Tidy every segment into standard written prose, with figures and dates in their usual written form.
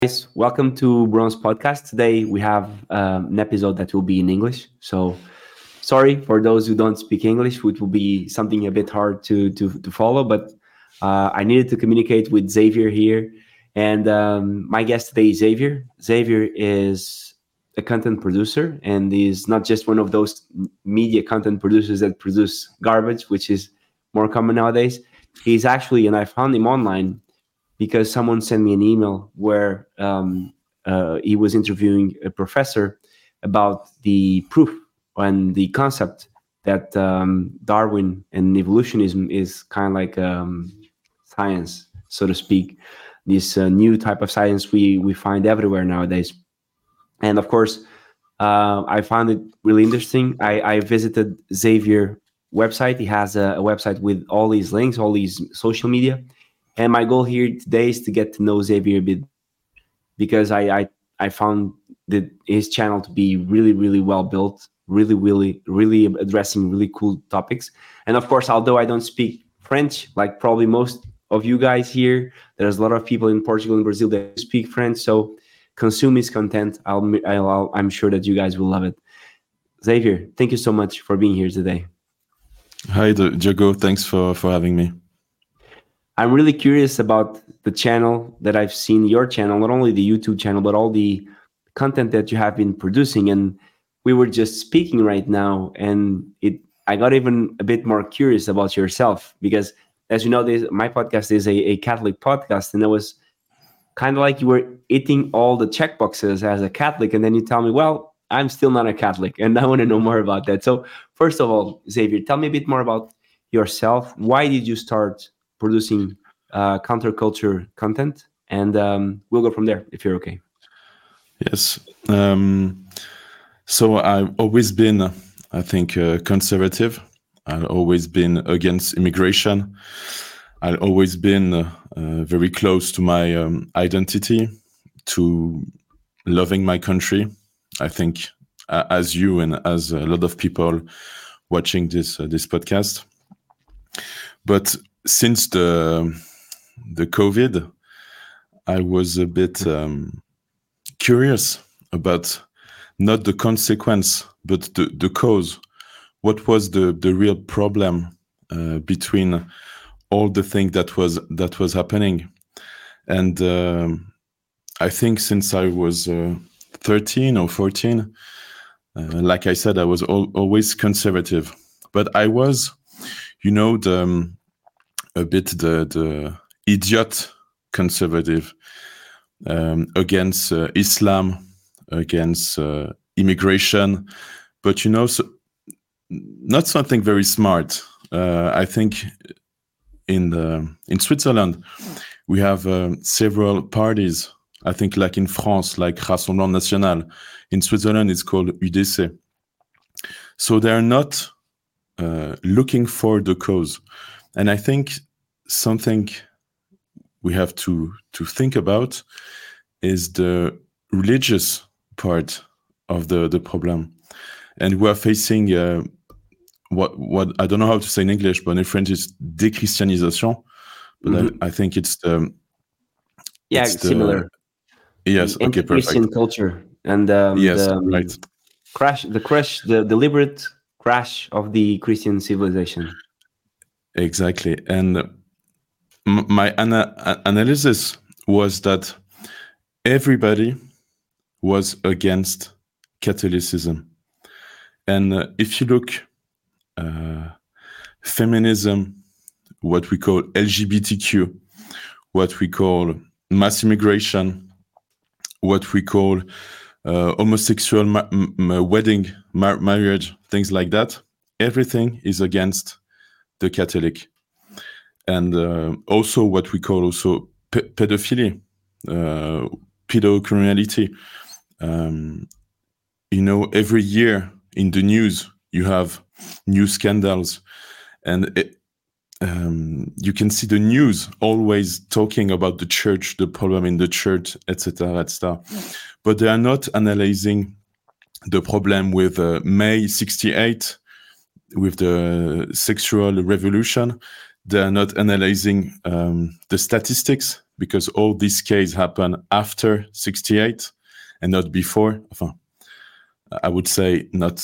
Guys, welcome to Bronze Podcast. Today we have an episode that will be in English. So sorry for those who don't speak English, which will be something a bit hard to follow. But I needed to communicate with Xavier here, and my guest today is Xavier. Xavier is a content producer, and is not just one of those media content producers that produce garbage, which is more common nowadays. He's actually, and I found him online because someone sent me an email where he was interviewing a professor about the proof and the concept that Darwin and evolutionism is kind of like science, so to speak. This new type of science we find everywhere nowadays. And of course, I found it really interesting. I visited Xavier website. He has a website with all these links, all these social media. And my goal here today is to get to know Xavier a bit because I found that his channel to be really well built, really addressing really cool topics. And of course, although I don't speak French, like probably most of you guys here, there's a lot of people in Portugal and Brazil that speak French. So consume his content. I'm sure that you guys will love it. Xavier, thank you so much for being here today. Hi, Diogo. Thanks for having me. I'm really curious about the channel that I've seen, your channel, not only the YouTube channel, but all the content that you have been producing. And we were just speaking right now, and I got even a bit more curious about yourself because, as you know, my podcast is a Catholic podcast, and it was kind of like you were hitting all the checkboxes as a Catholic, and then you tell me, well, I'm still not a Catholic, and I want to know more about that. So first of all, Xavier, tell me a bit more about yourself. Why did you start producing counterculture content? And we'll go from there if you're okay. Yes. So I've always been, I think, conservative. I've always been against immigration. I've always been very close to my identity, to loving my country. I think as you and as a lot of people watching this podcast. But since the COVID, I was a bit curious about not the consequence, but the cause. What was the real problem between all the things that was happening? And I think since I was 13 or 14, like I said, I was always conservative, but I was, a bit the idiot conservative against Islam, against immigration, but so, not something very smart. I think in Switzerland we have several parties. I think like in France, like Rassemblement National. In Switzerland, it's called UDC. So they are not looking for the cause. And I think something we have to think about is the religious part of the problem. And we are facing what I don't know how to say in English, but in French it's déchristianisation. But I think it's the... similar. Yes, okay, perfect. Christian culture and yes, right. The deliberate crash of the Christian civilization. Exactly. And my analysis was that everybody was against Catholicism. And if you look, feminism, what we call LGBTQ, what we call mass immigration, what we call homosexual wedding, marriage, things like that, everything is against the Catholic. And also what we call also pedophilia, pedocriminality. Every year in the news, you have new scandals, and you can see the news always talking about the church, the problem in the church, etc., etc. But they are not analyzing the problem with May 68, with the sexual revolution. They are not analyzing the statistics because all these cases happen after 68 and not before. I would say not.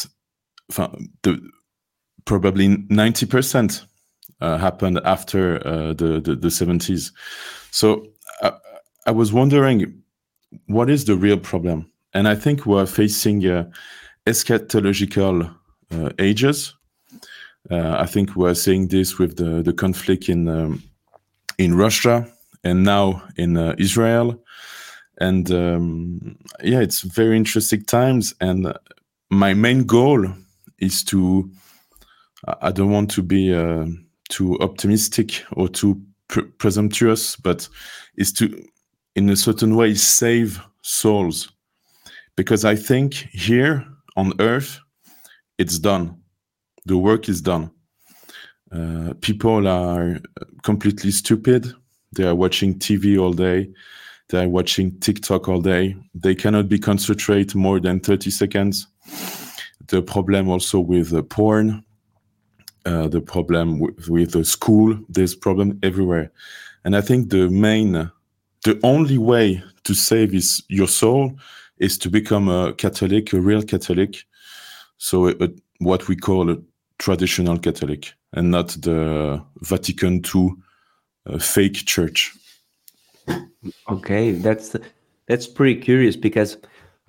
Probably 90% happened after the 70s. So I was wondering, what is the real problem? And I think we're facing eschatological ages. I think we're seeing this with the conflict in Russia and now in Israel. And it's very interesting times. And my main goal is to, I don't want to be too optimistic or too presumptuous, but is to, in a certain way, save souls. Because I think here on earth, it's done. The work is done. People are completely stupid. They are watching TV all day. They are watching TikTok all day. They cannot be concentrate more than 30 seconds. The problem also with porn, the problem with the school, there's problem everywhere. And I think the only way to save your soul is to become a Catholic, a real Catholic. So what we call a traditional Catholic and not the Vatican II fake church. Okay, that's pretty curious because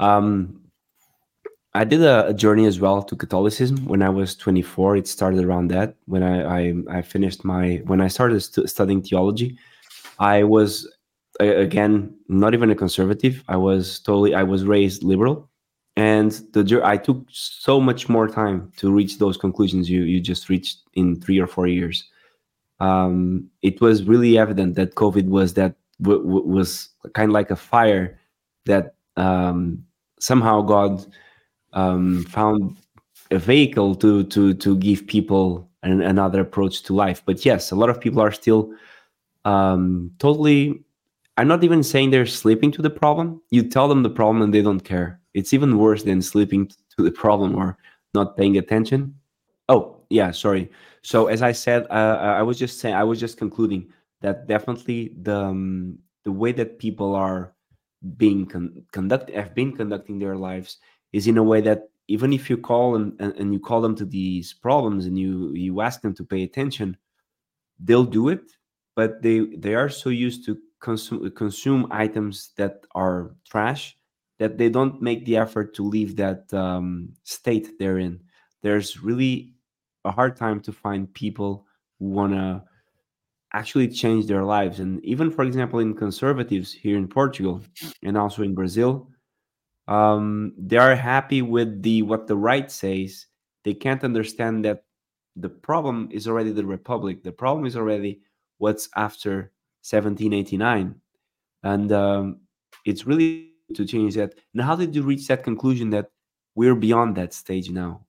I did a journey as well to Catholicism when I was 24. It started around that when I finished when I started studying theology. I was again not even a conservative. I was raised liberal, and I took so much more time to reach those conclusions you just reached in 3 or 4 years. It was really evident that COVID was was kind of like a fire that somehow God found a vehicle to give people another approach to life. But yes, a lot of people are still totally. I'm not even saying they're sleeping to the problem. You tell them the problem and they don't care. It's even worse than sleeping to the problem or not paying attention. Oh yeah, sorry. So as I said, I was just concluding that definitely the way that people are being have been conducting their lives is in a way that even if you call and you call them to these problems and you ask them to pay attention, they'll do it, but they are so used to consume items that are trash that they don't make the effort to leave that state they're in. There's really a hard time to find people who want to actually change their lives. And even, for example, in conservatives here in Portugal and also in Brazil, they are happy with what the right says. They can't understand that the problem is already the republic. The problem is already what's after 1789, and it's really to change that. And how did you reach that conclusion that we're beyond that stage now?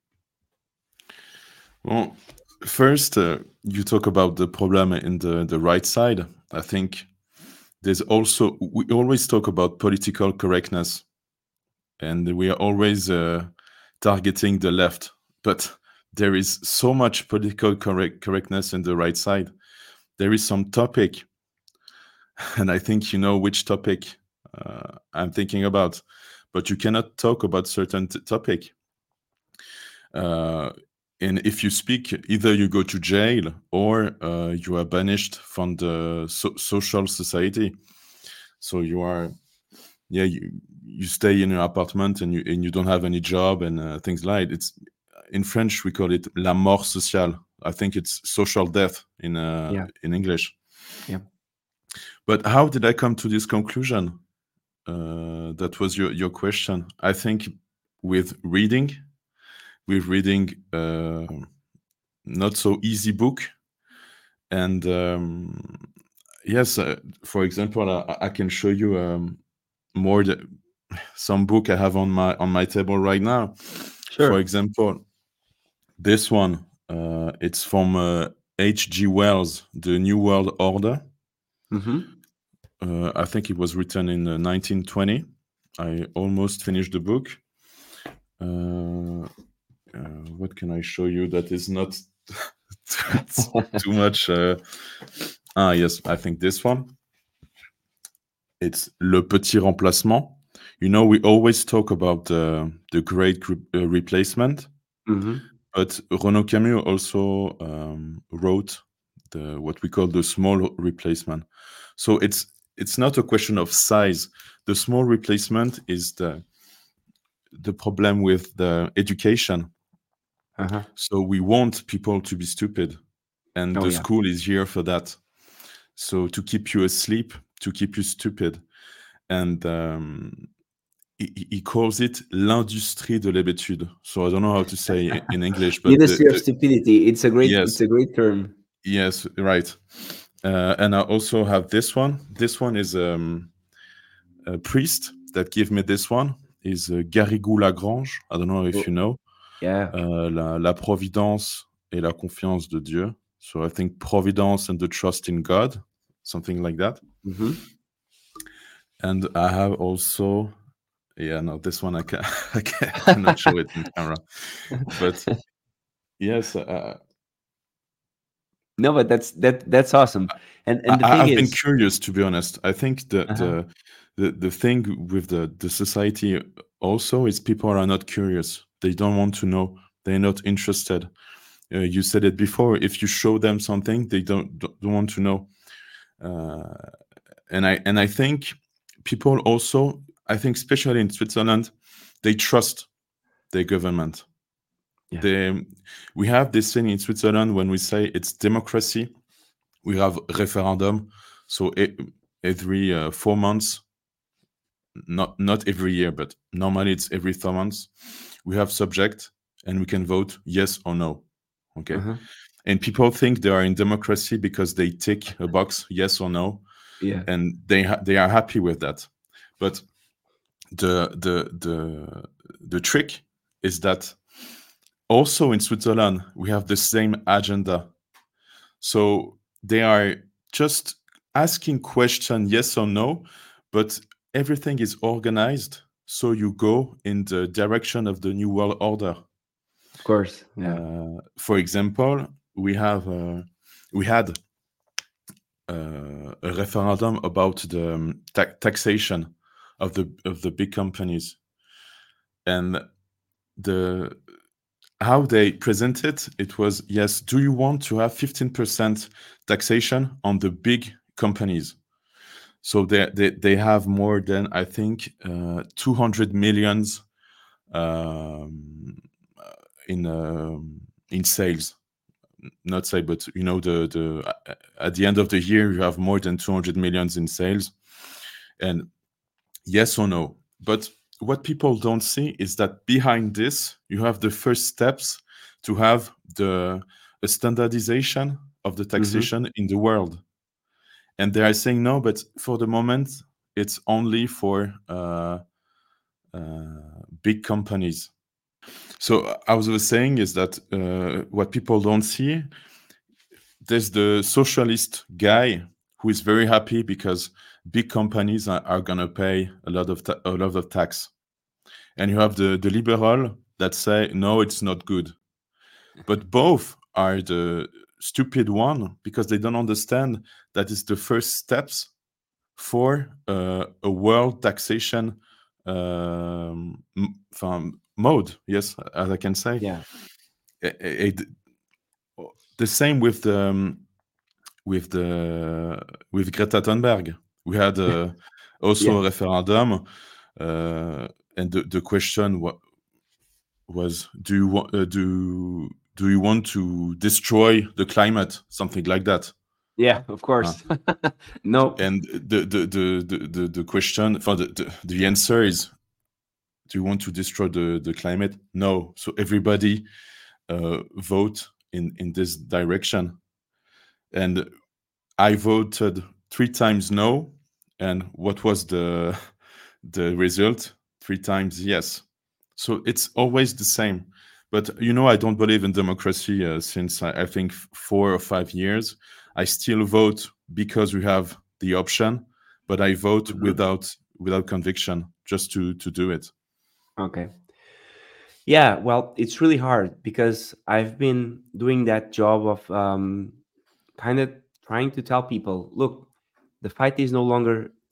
Well, first, you talk about the problem in the right side. I think there's also, we always talk about political correctness, and we are always targeting the left. But there is so much political correctness in the right side. There is some topic, and I think you know which topic I'm thinking about, but you cannot talk about certain topic. And if you speak, either you go to jail or you are banished from the social society. So you are, you stay in your apartment and you don't have any job and things like it's in French we call it la mort sociale. I think it's social death in English. Yeah. But how did I come to this conclusion? That was your question. I think with reading not so easy book, and yes, for example, I can show you more some book I have on my table right now. Sure. For example, this one, it's from H.G. Wells, The New World Order. I think it was written in 1920. I almost finished the book. What can I show you that is not too much? Yes, I think this one. It's Le Petit Remplacement. You know, we always talk about the great replacement, Hmm. but Renaud Camus also wrote what we call the small replacement. So it's not a question of size. The small replacement is the problem with the education. Uh-huh. So we want people to be stupid, and Oh the yeah. school is here for that. So to keep you asleep, to keep you stupid, and he calls it l'industrie de l'hébétude. So I don't know how to say in English, but Ministry of Stupidity. It's yes, a great term. yes, right. And I also have this one. This one is a priest that gave me this one. Is Garrigou Lagrange. I don't know if you Oh, know. yeah. La providence et la confiance de Dieu. So I think providence and the trust in God, something like that. Hmm. And I have also, yeah, no, this one I cannot show it in camera, but yes, No, but that's awesome. And the thing I've been is, curious, to be honest. I think uh-huh. the thing with the society also is people are not curious. They don't want to know. They're not interested. You said it before. If you show them something, they don't want to know. Uh, and I think people also, I think especially in Switzerland, they trust their government. Yeah. We have this thing in Switzerland when we say it's democracy. We have referendum, so every 4 months, not every year, but normally it's every 4 months. We have subject, and we can vote yes or no. Okay, Uh-huh. and people think they are in democracy because they tick a box yes or no, Yeah. and they are happy with that. But the trick is that also in Switzerland we have the same agenda. So they are just asking question yes or no, but everything is organized so you go in the direction of the new world order. Of course. Yeah. For example, we had a referendum about the taxation of the big companies, and the how they presented it was, yes, do you want to have 15% taxation on the big companies? So they have more than, I think, 200 millions um, in sales. Not say, but you know, the at the end of the year you have more than 200 millions in sales, and yes or no. But what people don't see is that behind this you have the first steps to have a standardization of the Hmm. taxation in the world, and they are saying no, but for the moment it's only for big companies. So I was saying is that what people don't see, there's the socialist guy who is very happy because big companies are gonna pay a lot of tax, and you have the liberal that say no, it's not good. But both are the stupid one because they don't understand that is the first steps for a world taxation mode. Yes, as I can say. Yeah. The same with with Greta Thunberg. We had also Yeah. a referendum, and the question was, do you want to destroy the climate, something like that? Yeah. Of Uh, course. No. and the question for the answer is, do you want to destroy the climate? No. So everybody vote in this direction, and I voted 3 times no, and what was the result? 3 times yes. So it's always the same. But you know, I don't believe in democracy since I think 4 or 5 years. I still vote because we have the option, but I vote Mhm. without conviction, just to do it. Okay. Yeah, well, it's really hard because I've been doing that job of kind of trying to tell people, look, the fight is no longer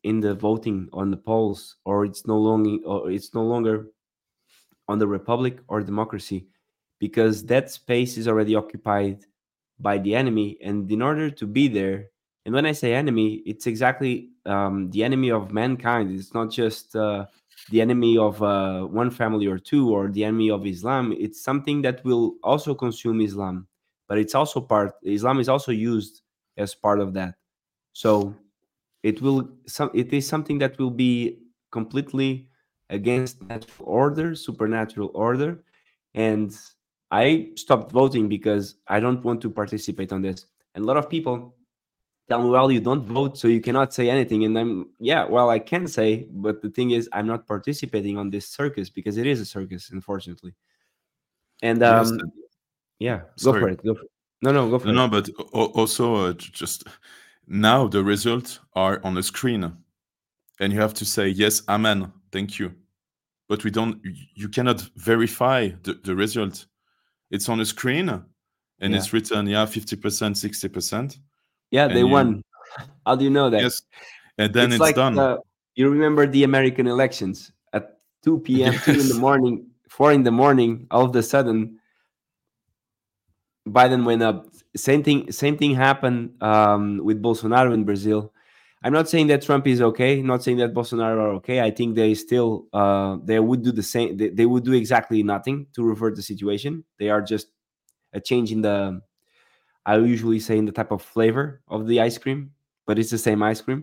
in the voting on the polls, or it's no longer on the republic or democracy, because that space is already occupied by the enemy. And in order to be there, and when I say enemy, it's exactly the enemy of mankind. It's not just the enemy of one family or two, or the enemy of Islam. It's something that will also consume Islam, but it's also part. Islam is also used as part of that. So it is something that will be completely against natural order, supernatural order. And I stopped voting because I don't want to participate on this. And a lot of people tell me, well, you don't vote, so you cannot say anything. And I'm, yeah, well, I can say, but the thing is, I'm not participating on this circus, because it is a circus, unfortunately. And Yes, yeah, go for sorry. it. Go for it. No, no, go No, for it. no, but also just now the results are on the screen, and you have to say yes, amen, thank you. But we don't. You cannot verify the result. It's on the screen, and Yeah. it's written, yeah, 50%, 60%, Yeah, they and you won. How do you know that? yes, and then It's it's like done. you remember the American elections at 2 p.m., 2 in the Yes, morning, 4 in the morning, all of a sudden Biden went up. Same thing happened with Bolsonaro in Brazil. I'm not saying that Trump is okay. I'm not saying that Bolsonaro are okay. I think they still they would do the same. They would do exactly nothing to revert the situation. They are just a change in the, I usually say, in the type of flavor of the ice cream, but it's the same ice cream.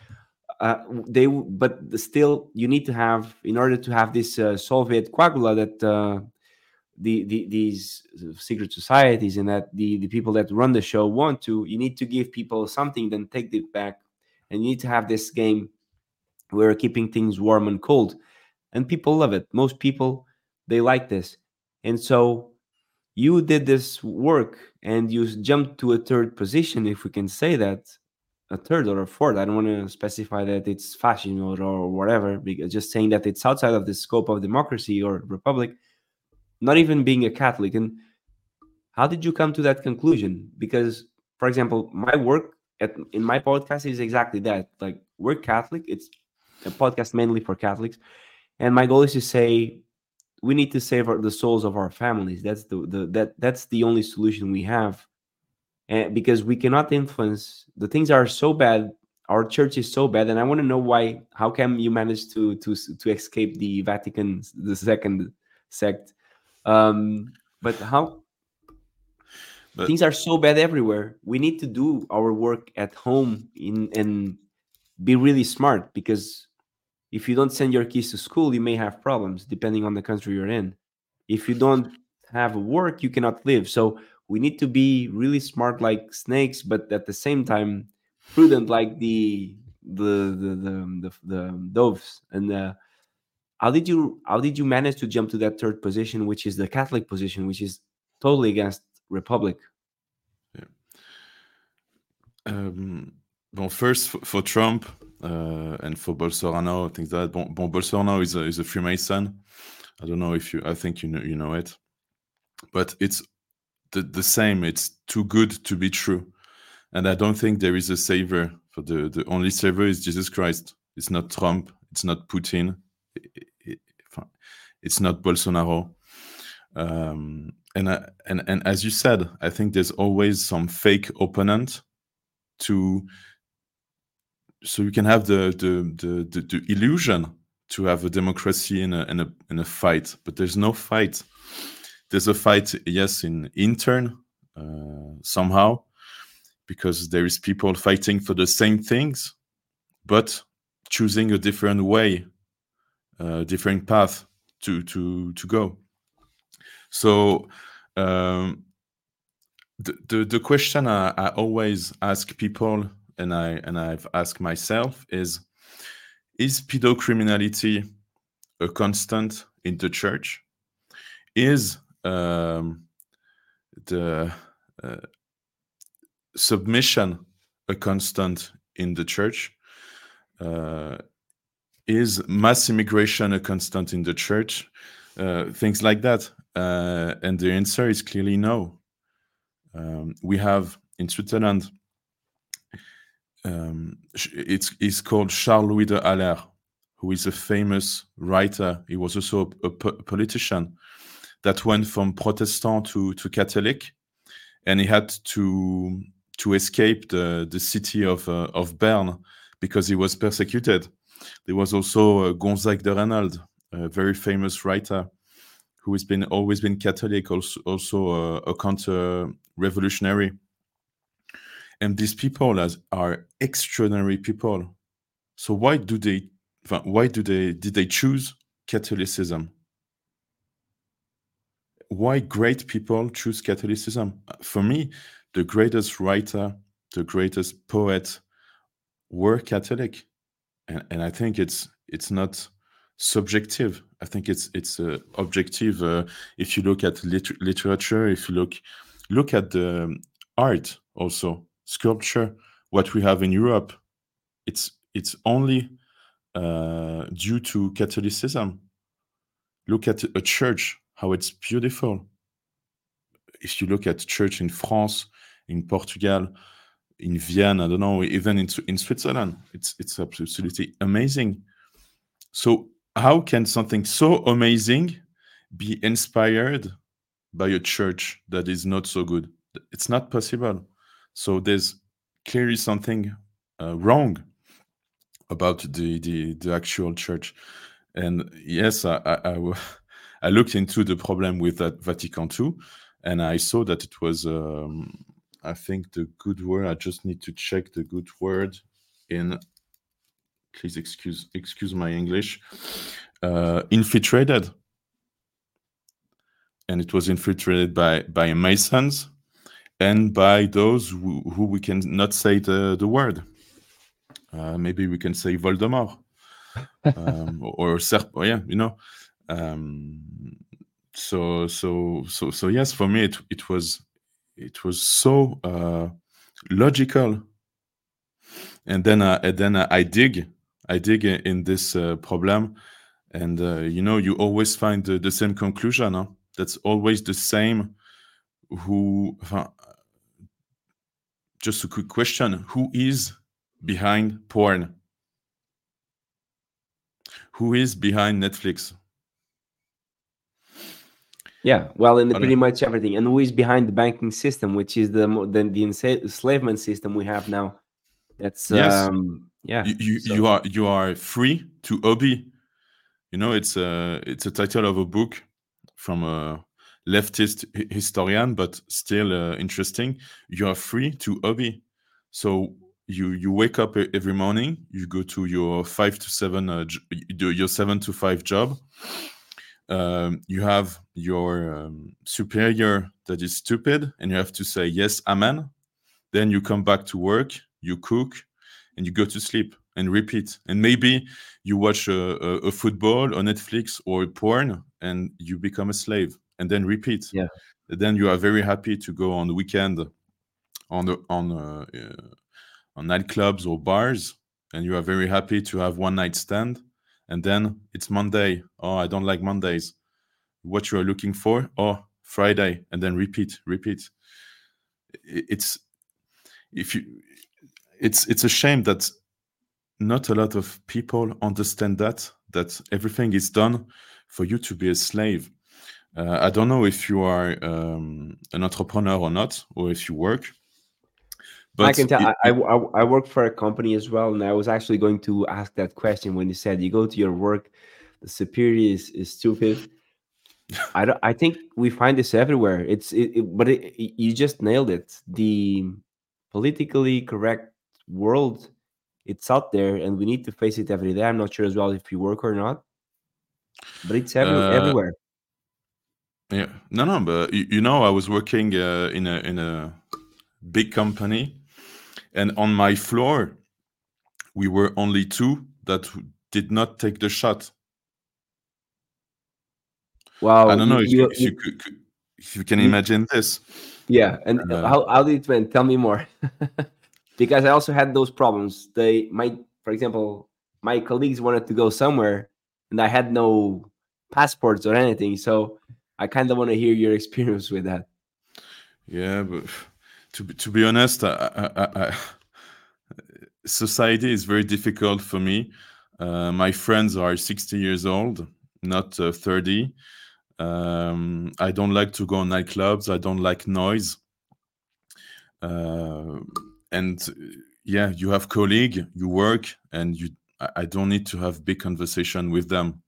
But still, you need to have, in order to have this Soviet quagula that these secret societies and that the people that run the show want to, you need to give people something, then take it back. And you need to have this game where keeping things warm and cold, and people love it. Most people, they like this. And so you did this work and you jumped to a third position, if we can say that, a third or a fourth. I don't want to specify that it's fashion or whatever, because just saying that it's outside of the scope of democracy or republic, not even being a Catholic. And how did you come to that conclusion? Because, for example, my work in my podcast is exactly that. Like, we're Catholic. It's a podcast mainly for Catholics, and my goal is to say we need to save the souls of our families. That's that's the only solution we have, and because we cannot influence, the things are so bad. Our church is so bad, and I want to know why. How come you managed to escape the Vatican, the second sect? But how but things are so bad everywhere. We need to do our work at home in and be really smart, because if you don't send your kids to school, you may have problems depending on the country you're in. If you don't have work, you cannot live. So we need to be really smart like snakes, but at the same time prudent like the doves. And how did you manage to jump to that third position, which is the Catholic position, which is totally against Republic? yeah. Well, first for Trump and for Bolsonaro, things like that. Bolsonaro is a Freemason. I don't know if you. I think you know it, but it's the same. It's too good to be true, and I don't think there is a savior. For the only savior is Jesus Christ. It's not Trump. It's not Putin. i- it's not Bolsonaro. And as you said, I think there's always some fake opponent to, so you can have the illusion to have a democracy in a fight, but there's no fight. There's a fight, yes, in intern somehow, because there is people fighting for the same things, but choosing a different way, different path to go. So the question I always ask people, and I've asked myself, is pedocriminality a constant in the church? Is the submission a constant in the church? Is mass immigration a constant in the church? Things like that. And the answer is clearly no. We have in Switzerland It's called Charles Louis de Haller, who is a famous writer. He was also a politician that went from Protestant to Catholic, and he had to escape the city of Bern because he was persecuted. There was also Gonzague de Reynold, a very famous writer who has always been Catholic, also a counter-revolutionary. And these people are extraordinary people. So why did they choose Catholicism? Why great people choose Catholicism? For me, the greatest writer, the greatest poet were Catholic, and I think it's not subjective. I think it's objective. If you look at literature, if you look at the art, also sculpture, what we have in Europe, it's only due to Catholicism. Look at a church, how it's beautiful. If you look at church in France, in Portugal, in Vienna, I don't know, even in Switzerland, it's absolutely amazing. So how can something so amazing be inspired by a church that is not so good? It's not possible. So there's clearly something wrong about the actual church. And yes, I looked into the problem with that Vatican II, and I saw that it was, I think the good word, I just need to check the good word in, please excuse my English, infiltrated. And it was infiltrated by Masons and by those who we can not say the word. Maybe we can say Voldemort. Or yeah, you know. So yes, for me it was so logical, and then I dig in this problem, and you always find the same conclusion. Huh? That's always the same. Just a quick question: who is behind porn? Who is behind Netflix? Yeah, well, in pretty much everything, and who is behind the banking system, which is the enslavement system we have now. That's yes. Yeah. You are free to hobby. It's a title of a book from a leftist historian, but still interesting. You are free to hobby. So you wake up every morning, you go to your 5 to 7, your 7 to 5 job. You have your superior that is stupid, and you have to say yes, amen. Then you come back to work, you cook, and you go to sleep and repeat. And maybe you watch a football on Netflix or porn, and you become a slave, and then repeat. Yeah. And then you are very happy to go on the weekend on nightclubs or bars, and you are very happy to have one night stand. And then it's Monday. Oh, I don't like Mondays. What you are looking for? Oh, Friday, and then repeat. It's a shame that not a lot of people understand that everything is done for you to be a slave. I don't know if you are an entrepreneur or not, or if you work. But I can tell. I work for a company as well, and I was actually going to ask that question when you said you go to your work, the superior is stupid. I think we find this everywhere. But you just nailed it. The politically correct world, it's out there, and we need to face it every day. I'm not sure as well if you work or not, but it's everywhere. Yeah, no, but I was working in a big company, and on my floor, we were only 2 that did not take the shot. Wow, I don't know if you can imagine this. Yeah, and how did it went? Tell me more. Because I also had those problems. For example, my colleagues wanted to go somewhere, and I had no passports or anything. So I kind of want to hear your experience with that. Yeah, but to be honest, society is very difficult for me. My friends are 60 years old, not 30. I don't like to go on nightclubs. I don't like noise. And yeah, you have colleague, you work, and I don't need to have big conversation with them.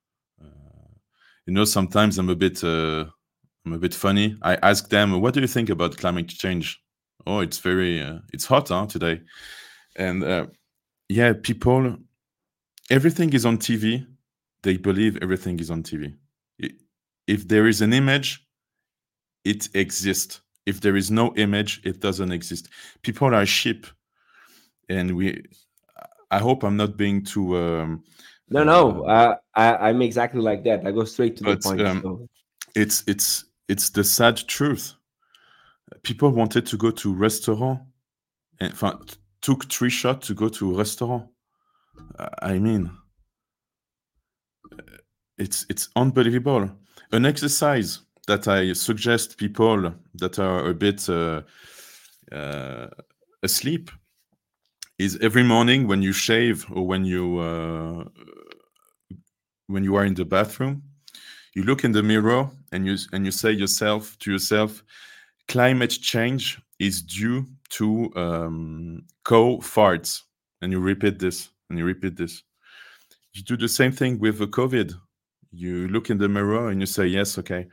Sometimes I'm a bit funny. I ask them, "What do you think about climate change?" Oh, it's hot, today, and yeah, people, everything is on TV. They believe everything is on TV. If there is an image, it exists. If there is no image, it doesn't exist. People are sheep, and I hope I'm not being too. No, I'm exactly like that. I go straight to the But point. So it's the sad truth. People wanted to go to restaurant, and took 3 shots to go to a restaurant. I mean, it's unbelievable. An exercise that I suggest people that are a bit asleep is every morning when you shave or when you are in the bathroom, you look in the mirror and you say to yourself, climate change is due to cow farts, and you repeat this and you repeat this. You do the same thing with the COVID. You look in the mirror and you say, yes, okay,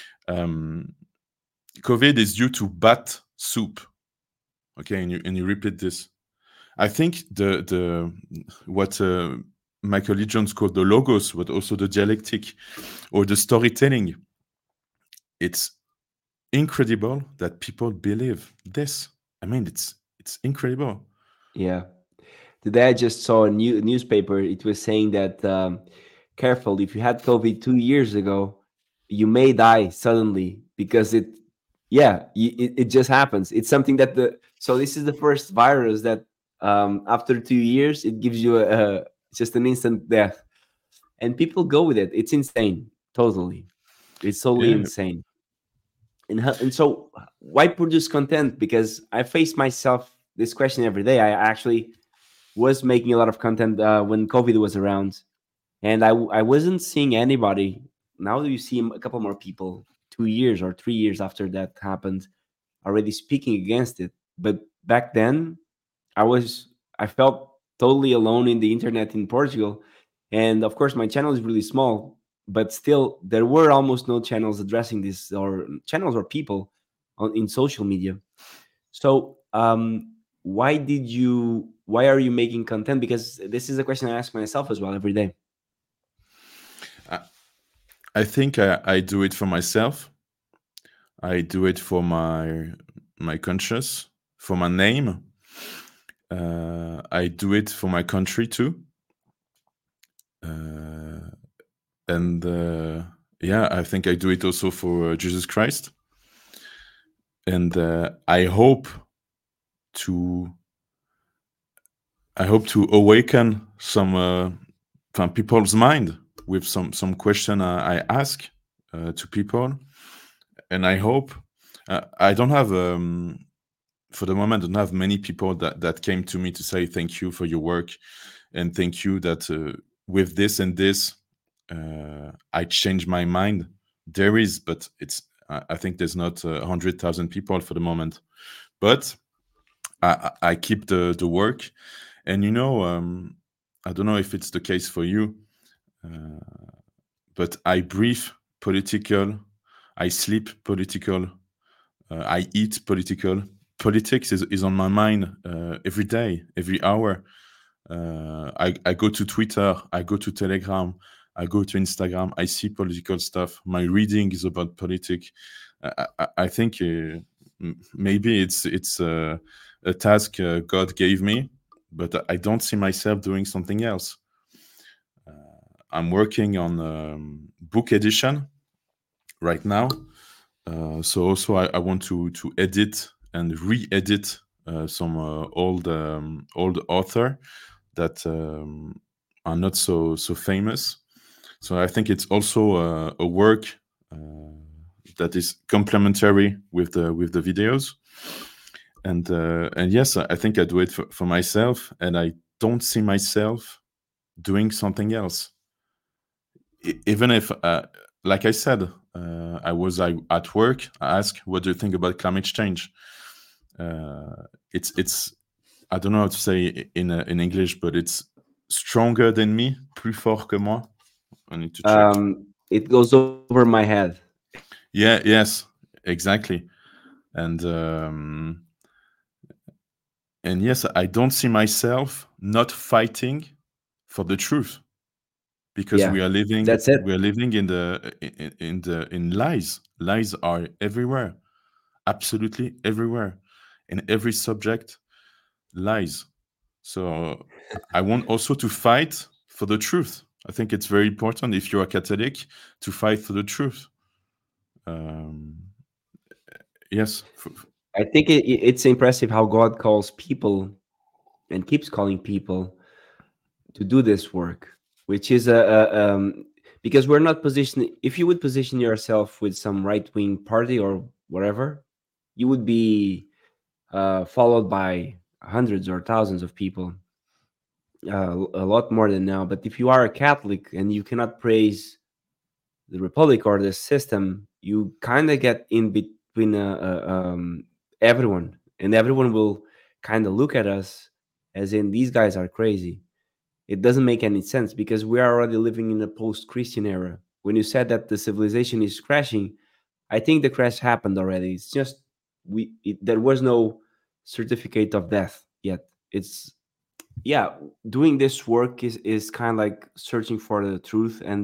COVID is due to bat soup. Okay, and you repeat this. I think the what Michael E. Jones called the logos, but also the dialectic or the storytelling. It's incredible that people believe this. I mean, it's incredible. yeah. Today I just saw a newspaper. It was saying that careful, if you had COVID 2 years ago, you may die suddenly because it just happens. It's something that so this is the first virus that after 2 years it gives you just an instant death, and people go with it. It's insane, totally. It's totally Yeah, insane. And so why produce content? Because I face myself this question every day. I actually was making a lot of content when COVID was around, and I wasn't seeing anybody. Now you see a couple more people 2 years or 3 years after that happened already speaking against it. But back then, I felt totally alone in the internet in Portugal, and of course my channel is really small, but still there were almost no channels addressing this, or channels or people in social media. So why are you making content? Because this is a question I ask myself as well every day. I think I do it for myself. I do it for my conscience, for my name. I do it for my country too. And yeah, I think I do it also for Jesus Christ. And I hope to awaken some people's mind with some question I ask to people, and I hope I don't have for the moment, I don't have many people that came to me to say thank you for your work and thank you that with this and this I changed my mind. There is, but I think there's not 100,000 people for the moment, but I keep the work. And I don't know if it's the case for you, but I breathe political, I sleep political, I eat political. Politics is on my mind every day, every hour. I go to Twitter, I go to Telegram, I go to Instagram, I see political stuff. My reading is about politics. I think maybe it's a task God gave me, but I don't see myself doing something else. I'm working on book edition right now. So also I want to edit and re-edit some old author that are not so famous. So I think it's also a work that is complementary with the videos. And yes, I think I do it for myself, and I don't see myself doing something else. Even if, like I said, I was at work. I asked, "What do you think about climate change?" It's I don't know how to say in English, but it's stronger than me, plus fort que moi. I need to check. It goes over my head. Yeah, yes, exactly. And yes, I don't see myself not fighting for the truth, because Yeah, that's it. we are living in lies. Lies are everywhere, absolutely everywhere, in every subject. Lies. So I want also to fight for the truth. I think it's very important, if you are Catholic, to fight for the truth. Um, yes. I think it's impressive how God calls people and keeps calling people to do this work, which is because we're not positioned. If you would position yourself with some right wing party or whatever, you would be followed by hundreds or thousands of people, a lot more than now. But if you are a Catholic and you cannot praise the republic or the system, you kind of get in between everyone, and everyone will kind of look at us as in these guys are crazy. It doesn't make any sense because we are already living in a post-Christian era. When you said that the civilization is crashing, I think the crash happened already. It's just there was no certificate of death yet. It's yeah, doing this work is kind of like searching for the truth and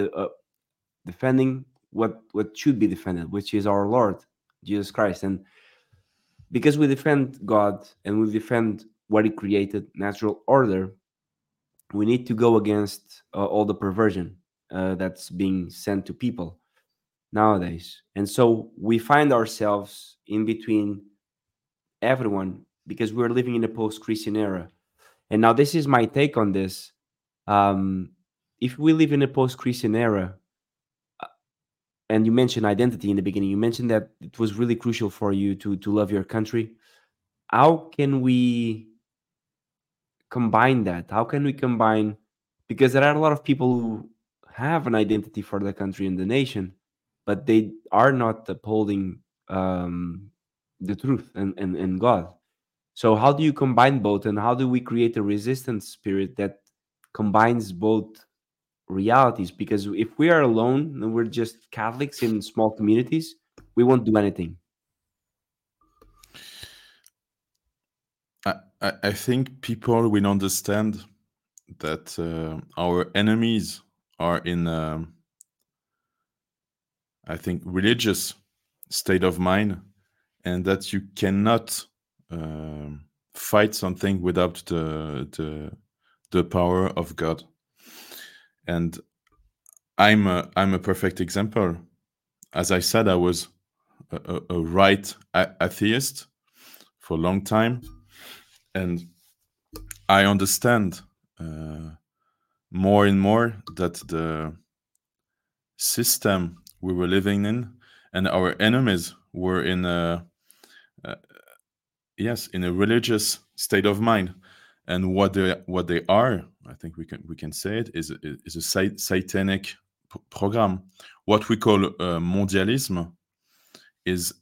defending what should be defended, which is our Lord Jesus Christ. And because we defend God and we defend what He created, natural order, we need to go against all the perversion that's being sent to people nowadays. And so we find ourselves in between everyone because we're living in a post-Christian era. And now this is my take on this. Um, if we live in a post-Christian era, and you mentioned identity in the beginning, you mentioned that it was really crucial for you to love your country. How can we combine that? How can we combine, because there are a lot of people who have an identity for the country and the nation, but they are not upholding the truth and God. So how do you combine both, and how do we create a resistance spirit that combines both realities? Because if we are alone and we're just Catholics in small communities, we won't do anything. I think people will understand that our enemies are in, I think, religious state of mind, and that you cannot fight something without the power of God. And I'm a perfect example. As I said, I was a right atheist for a long time, and I understand more and more that the system we were living in and our enemies were in a yes, in a religious state of mind. And what they are, I think we can say it, is a satanic program. What we call mondialism is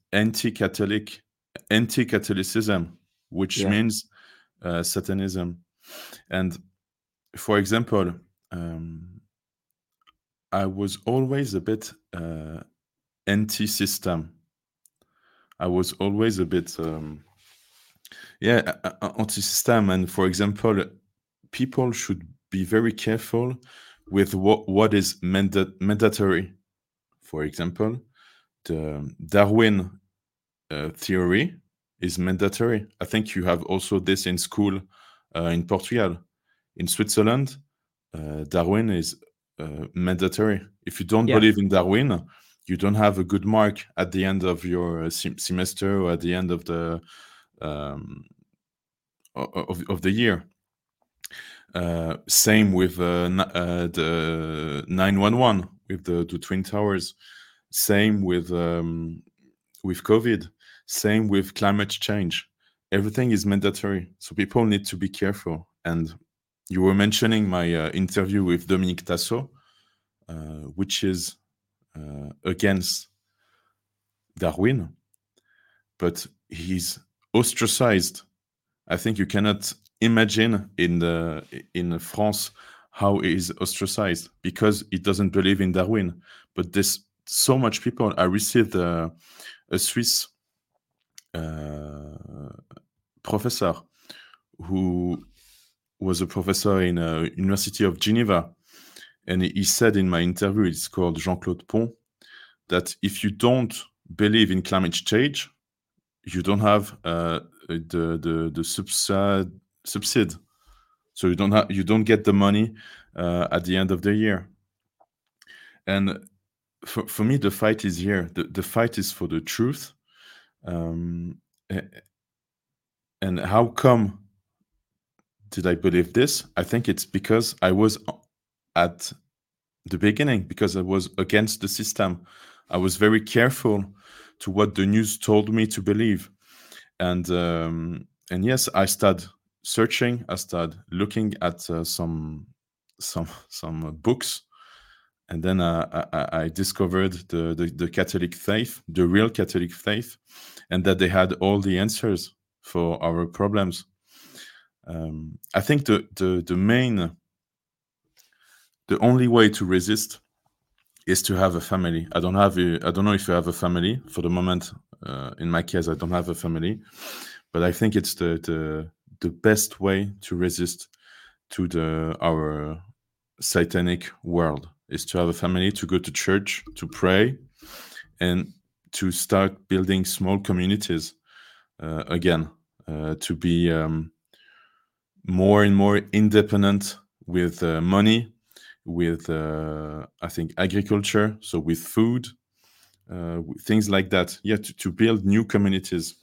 anti-Catholicism, which Yeah. means Satanism. And for example, I was always a bit anti-system. I was always a bit anti-system. And for example, people should be very careful with what is mandatory. For example, the Darwin theory is mandatory. I think you have also this in school in Portugal. In Switzerland, Darwin is mandatory. If you don't Yeah. believe in Darwin, you don't have a good mark at the end of your semester or at the end of the um, of the year. Same with the 911 with the twin towers. Same with COVID. Same with climate change. everything is mandatory, so people need to be careful. And you were mentioning my interview with Dominique Tasso, which is against Darwin, but he's ostracized. I think you cannot imagine in France how he is ostracized because he doesn't believe in Darwin. But there's so much people. I received a Swiss professor who was a professor in University of Geneva, and he said in my interview, it's called Jean-Claude Pont, that if you don't believe in climate change, you don't have the subside, so you don't get the money at the end of the year. And for me, the fight is here. The fight is for the truth. And how come did I believe this? I think it's because I was at the beginning, because I was against the system. I was very careful to what the news told me to believe. And yes, I started searching. I started looking at some books, and then I discovered the Catholic faith, the real Catholic faith, and that they had all the answers for our problems. I think the only way to resist is to have a family. I don't know if you have a family for the moment. In my case, I don't have a family, but I think it's the best way to resist to our satanic world is to have a family, to go to church, to pray, and to start building small communities again, to be more and more independent with money, with I think agriculture, so with food, things like that. Yeah, to build new communities.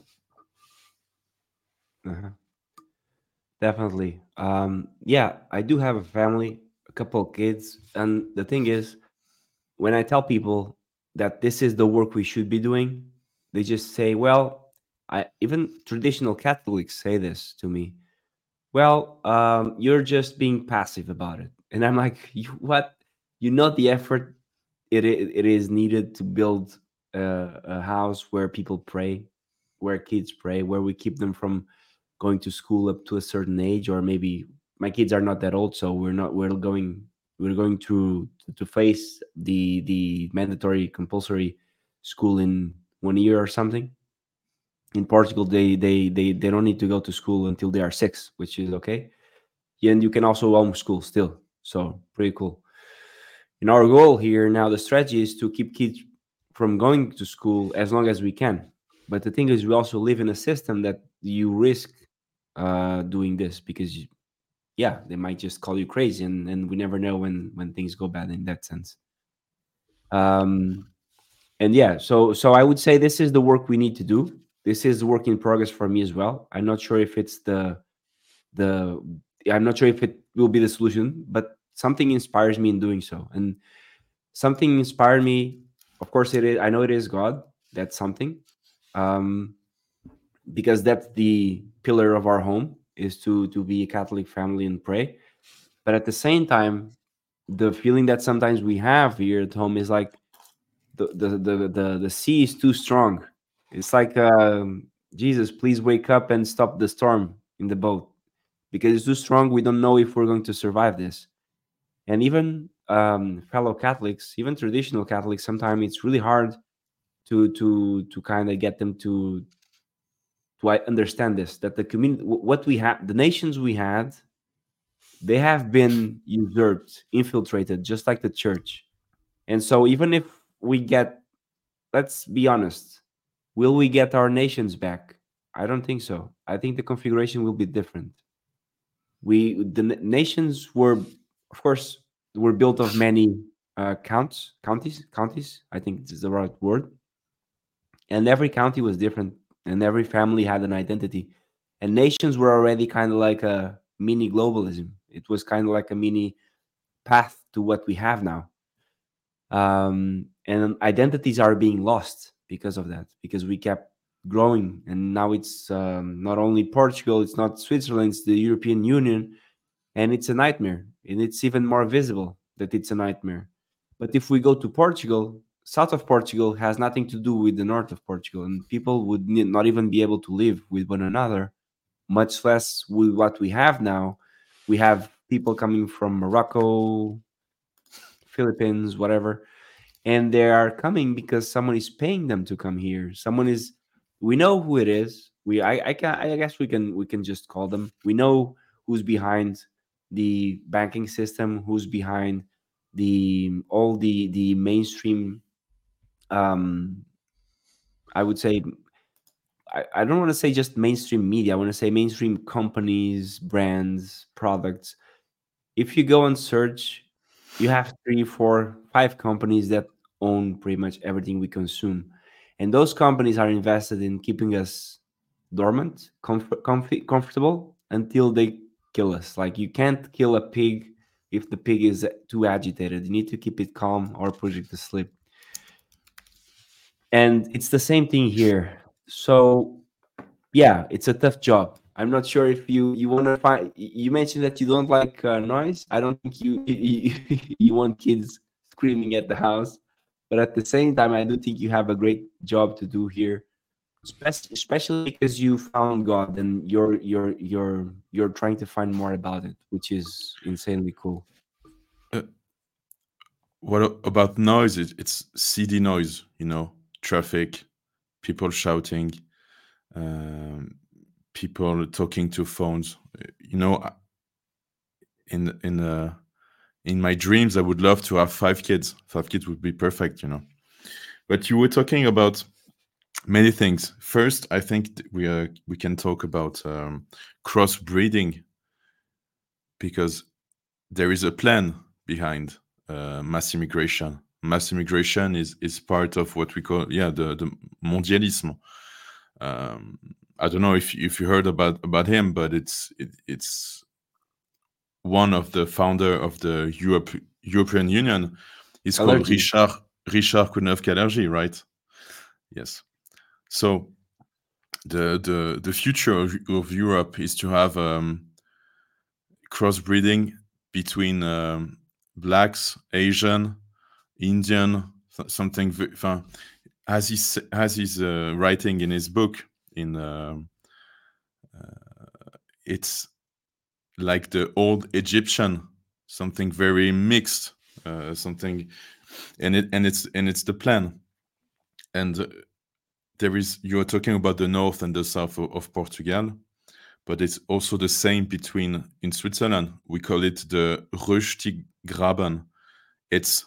Uh-huh. Definitely. Yeah, I do have a family, a couple of kids, and the thing is, when I tell people that this is the work we should be doing, they just say, "Well," I even traditional Catholics say this to me. Well, you're just being passive about it, and I'm like, you, what? You know the effort it is needed to build a house where people pray, where kids pray, where we keep them from going to school up to a certain age, or maybe my kids are not that old, so we're going to face the mandatory compulsory school in 1 year or something. In Portugal, they don't need to go to school until they are 6, which is okay. Yeah, and you can also homeschool still, so pretty cool. And our goal here now, the strategy is to keep kids from going to school as long as we can. But the thing is, we also live in a system that you risk doing this because, yeah, they might just call you crazy, and we never know when things go bad in that sense. Um, and yeah, so I would say this is the work we need to do. This is work in progress for me as well. I'm not sure if it's the I'm not sure if it will be the solution, but something inspires me in doing so. And something inspired me, of course it is, I know it is God. That's something. um because that's the pillar of our home, is to be a Catholic family and pray. But at the same time, the feeling that sometimes we have here at home is like the sea is too strong. It's like, Jesus, please wake up and stop the storm in the boat, because it's too strong. We don't know if we're going to survive this. And even fellow Catholics, even traditional Catholics, sometimes it's really hard to kind of get them to understand this, that the community, what we have, the nations we had, they have been usurped, infiltrated, just like the church. And so even if we get, let's be honest, will we get our nations back? I don't think so. I think the configuration will be different. Nations were, of course, were built of many counties. I think this is the right word. And every county was different, and every family had an identity. And nations were already kind of like a mini globalism. It was kind of like a mini path to what we have now. And identities are being lost because of that, because we kept growing, and now it's not only Portugal, it's not Switzerland, it's the European Union, and it's a nightmare. And it's even more visible that it's a nightmare. But if we go to Portugal, south of Portugal has nothing to do with the north of Portugal, and people would not even be able to live with one another, much less with what we have now. We have people coming from Morocco, Philippines, whatever, and they are coming because someone is paying them to come here. Someone is, we know who it is. I guess we can just call them. We know who's behind the banking system, who's behind the mainstream. Um, I would say, I don't want to say just mainstream media. I want to say mainstream companies, brands, products. If you go and search, you have three, four, five companies that own pretty much everything we consume. And those companies are invested in keeping us dormant, comfortable until they kill us. Like you can't kill a pig if the pig is too agitated. You need to keep it calm or put it to sleep. And it's the same thing here. So yeah, it's a tough job. I'm not sure if you want to find. You mentioned that you don't like noise. I don't think you want kids screaming at the house, but at the same time, I do think you have a great job to do here, especially because you found God and you're trying to find more about it, which is insanely cool. Uh, what about noise? It's city noise, traffic, people shouting, um, people talking to phones. In in uh, in my dreams, I would love to have 5 kids. 5 kids would be perfect. But you were talking about many things. First, I think we can talk about crossbreeding, because there is a plan behind mass immigration. Mass immigration is part of what we call the mondialism. I don't know if you heard about him, but it's one of the founder of the European Union. Is called Allergy. Richard Kounov-Kalergi, right? Yes. So the future of Europe is to have crossbreeding between blacks, Asian, Indian, something. As he's writing in his book, it's like the old Egyptian, something very mixed, something, and it's the plan. And you're talking about the north and the south of Portugal, but it's also the same in Switzerland. We call it the Rösti-Graben. It's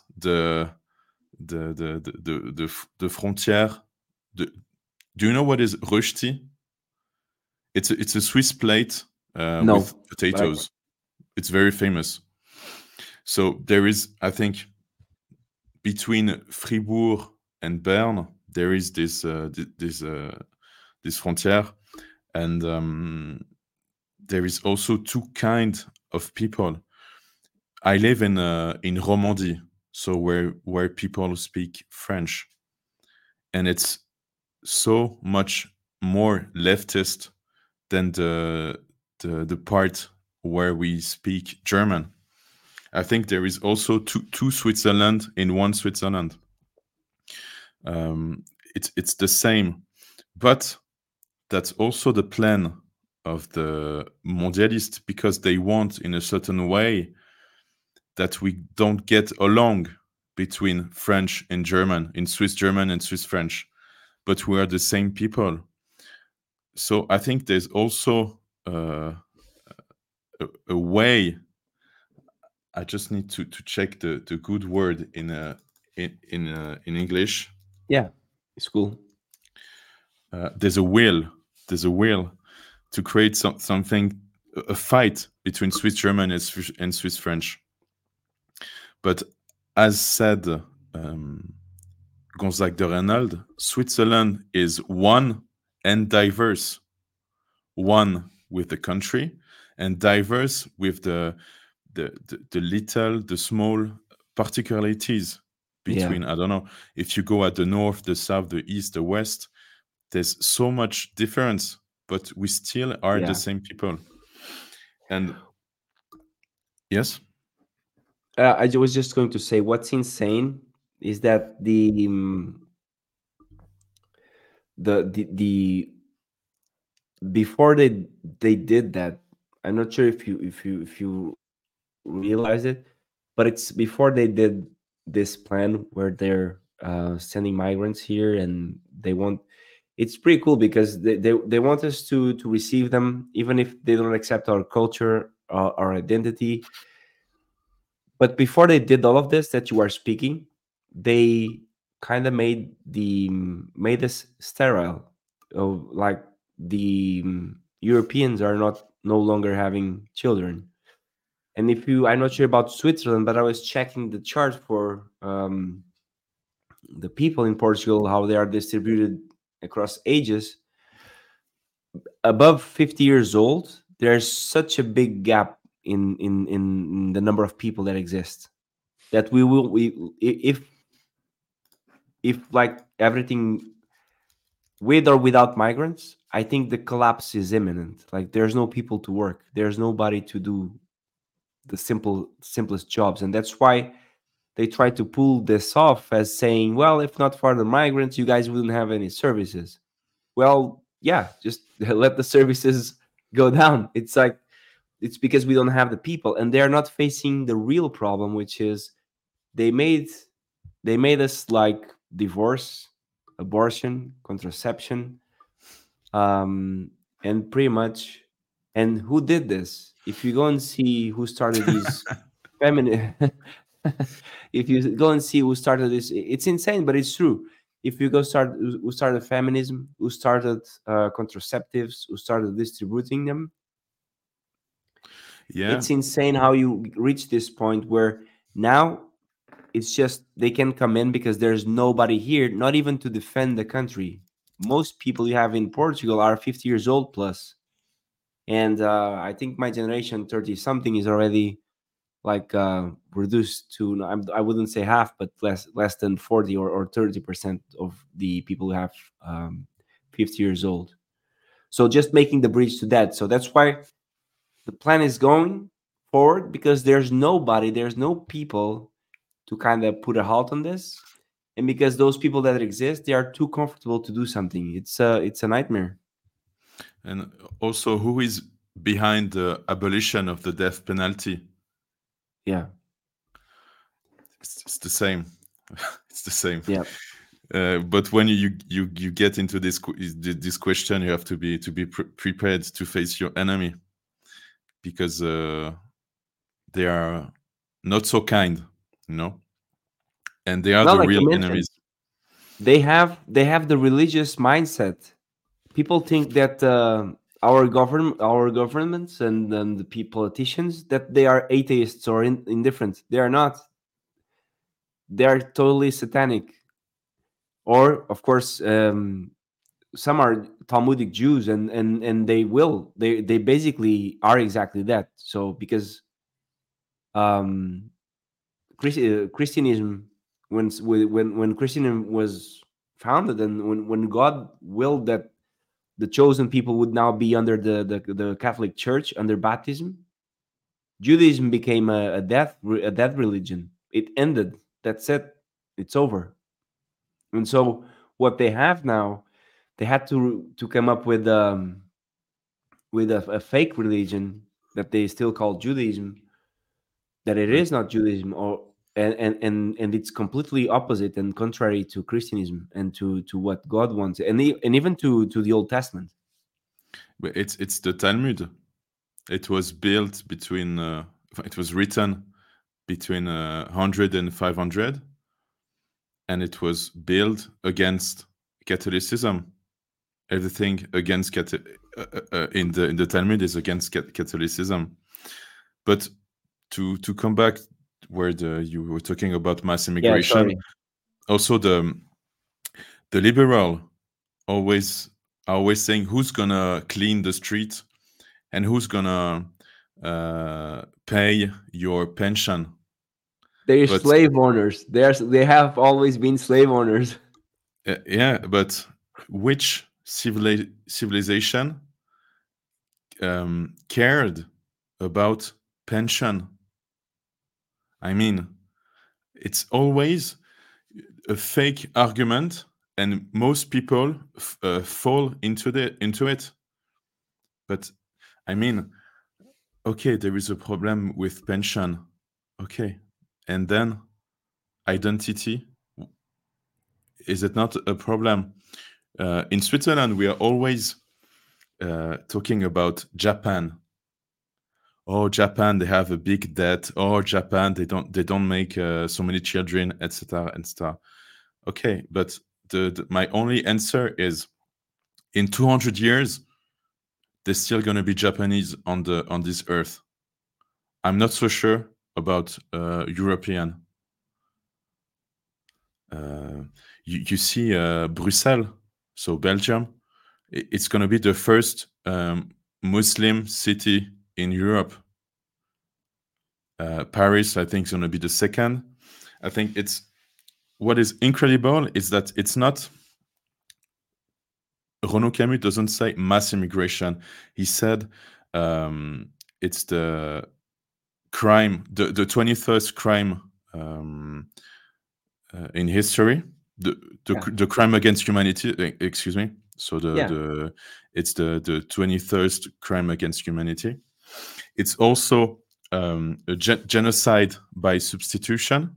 the frontière. Do you know what is Rösti? It's a Swiss plate No, with potatoes. It's very famous. So there is, I think, between Fribourg and Bern, there is this frontière, and there is also two kind of people. I live in Romandy, so where people speak French, and it's so much more leftist than the part where we speak German. I think there is also two Switzerland in one Switzerland. It's the same, but that's also the plan of the mondialists, because they want, in a certain way, that we don't get along between French and German, in Swiss German and Swiss French, but we are the same people. So I think there's also a way. I just need to check the good word in English. yeah, it's cool. There's a will to create something, a fight between Swiss German and Swiss French. But as said Gonzague de Reinald, Switzerland is one and diverse. One with the country, and diverse with the small particularities between. I don't know if you go at the north, the south, the east, the west. There's so much difference, but we still are the Yeah. same people. And yes, Was just going to say what's insane is that the before they did that. I'm not sure if you realize it, but it's before they did this plan where they're sending migrants here, and they want. It's pretty cool because they want us to receive them even if they don't accept our culture, our identity. But before they did all of this that you are speaking, they kind of made us sterile. Oh, like Europeans are not no longer having children. And if you, I'm not sure about Switzerland, but I was checking the chart for the people in Portugal, how they are distributed across ages. Above 50 years old, there's such a big gap in the number of people that exist that if like everything with or without migrants, I think the collapse is imminent. Like there's no people to work, there's nobody to do the simplest jobs, and that's why they try to pull this off as saying, well, if not for the migrants, you guys wouldn't have any services. Well, yeah, just let the services go down. It's like it's because we don't have the people, and they're not facing the real problem, which is they made they made us like divorce, abortion, contraception, um, and pretty much. And who did this? If you go and see who started these feminine, if you go and see who started this, it's insane, but it's true. If you go start who started feminism, who started contraceptives, who started distributing them, yeah, it's insane how you reach this point where now it's just they can come in because there's nobody here, not even to defend the country. Most people you have in Portugal are 50 years old plus, and I think my generation, 30 something, is already like reduced to I wouldn't say half, but less than 40 or 30% of the people who have 50 years old. So just making the bridge to that. So that's why the plan is going forward, because there's no people to kind of put a halt on this, and because those people that exist, they are too comfortable to do something. It's a nightmare. and also who is behind the abolition of the death penalty? Yeah. It's the same. It's the same. Yeah. But when you get into this question, you have to be prepared to face your enemy, because they are not so kind, you know, and they are Well, the like real you mentioned, enemies. they have the religious mindset. People think that our governments and the politicians, that they are atheists or indifferent. They are not. They are totally satanic. Or of course, some are Talmudic Jews, and they basically are exactly that. So because um, Christianism, when Christianism was founded, and when God willed that the chosen people would now be under the Catholic Church under baptism, Judaism became a death religion. It ended. That's it. It's over. And so what they have now, they had to come up with a fake religion that they still call Judaism, that it But is not Judaism, or and it's completely opposite and contrary to Christianism and to what God wants, and even to the Old Testament. it's the Talmud. It was built between. It was written between 100 and 500, and it was built against Catholicism. Everything against in the Talmud is against Catholicism. But to come back where you were talking about mass Yeah, immigration, sorry. also the liberal always saying who's gonna clean the street and who's gonna pay your pension. They're But slave owners. They have always been slave owners. yeah, but which civilization cared about pension. I mean, it's always a fake argument, and most people fall into it. But I mean, okay, there is a problem with pension. Okay, and then identity, is it not a problem? In Switzerland, we are always talking about Japan. Oh, Japan, they have a big debt. Oh, Japan, they don't make so many children, etc., etc. Okay, but my only answer is, in 200 years, there's still gonna be Japanese on this earth. I'm not so sure about European. You see Brussels, so Belgium, it's going to be the first Muslim city in Europe. Paris, I think, is going to be the second. I think what is incredible is that it's not. Renaud Camus doesn't say mass immigration. He said it's the crime, the 21st crime in history, the crime against humanity. Excuse me. So it's the 21st crime against humanity. It's also a genocide by substitution.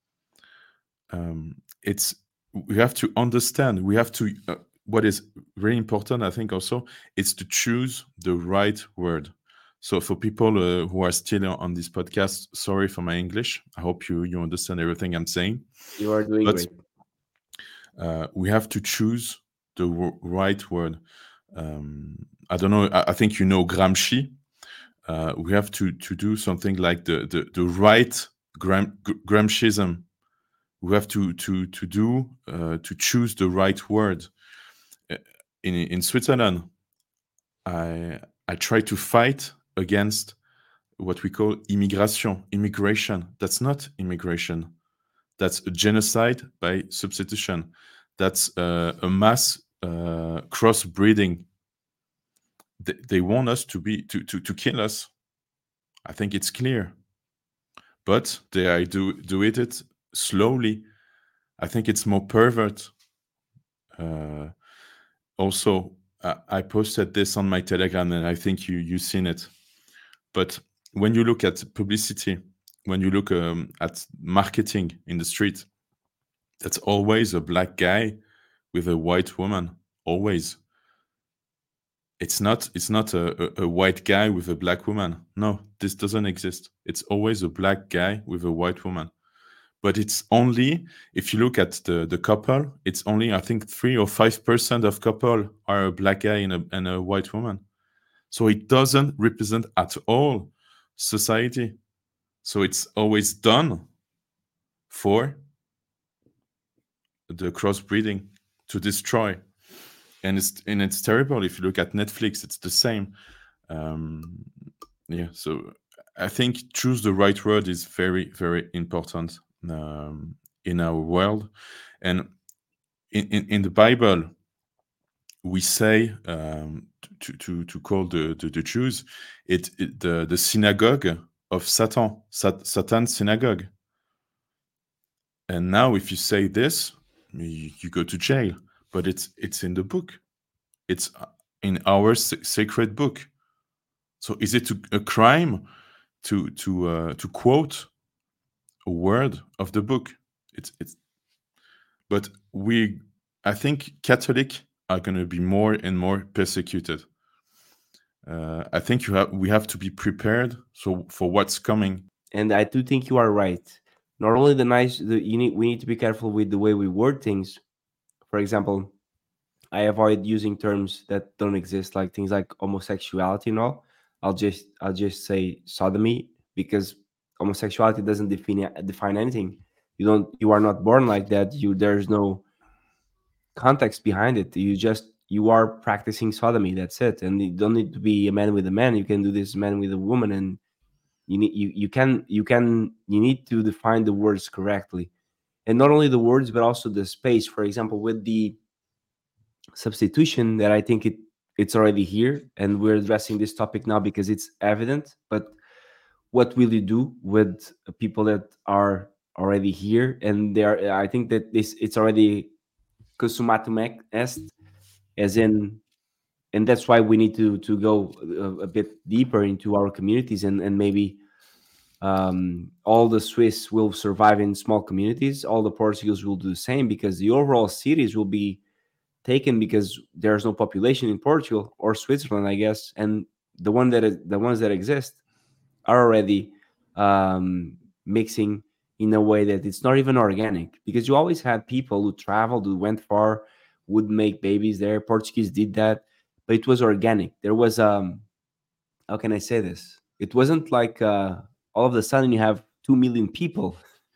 We have to understand. We have to. What is very important, I think, also, is to choose the right word. So for people who are still on this podcast, sorry for my English. I hope you understand everything I'm saying. You are doing great. We have to choose the right word. I don't know. I think you know Gramsci. We have to do something like the right Gramscism. We have to choose the right word. In Switzerland, I try to fight against what we call immigration. That's not immigration. That's a genocide by substitution. That's a mass crossbreeding. They want us to kill us. I think it's clear, but they do it slowly. I think it's more pervert. Also, I posted this on my Telegram, and I think you've seen it. But when you look at publicity, when you look at marketing in the street, that's always a black guy with a white woman. Always. It's not a white guy with a black woman. No, this doesn't exist. It's always a black guy with a white woman. But it's only, if you look at the couple, it's only, I think, 3 or 5% of couple are a black guy and a white woman. So it doesn't represent at all society. So it's always done for the crossbreeding, to destroy. And it's terrible. If you look at Netflix, it's the same. So I think choose the right word is very, very important in our world. And in the Bible, we say to call the Jews the synagogue of Satan, Satan's synagogue. And now, if you say this, you go to jail. But it's in the book. It's in our sacred book. So is it a crime to quote a word of the book? But I think Catholics are going to be more and more persecuted. I think we have to be prepared for what's coming. And I do think you are right. Not only we need to be careful with the way we word things. For example, I avoid using terms that don't exist, like things like homosexuality and all. I'll just say sodomy, because homosexuality doesn't define anything. You are not born like that. There's no context behind it. You are practicing sodomy. That's it. And you don't need to be a man with a man. You can do this man with a woman, and you need to define the words correctly. And not only the words, but also the space. For example, with the substitution that I think it's already here, and we're addressing this topic now because it's evident. But what will you do with people that are already here and they are? I think that this it's already consumatum est, as in, and that's why we need to go a bit deeper into our communities, and maybe all the Swiss will survive in small communities, all the Portuguese will do the same, because the overall cities will be taken because there's no population in Portugal or Switzerland, I guess, and the ones that exist are already mixing in a way that it's not even organic, because you always had people who traveled, who went far, would make babies there. Portuguese did that, but it was organic. There was how can I say this? It wasn't like all of a sudden you have 2 million people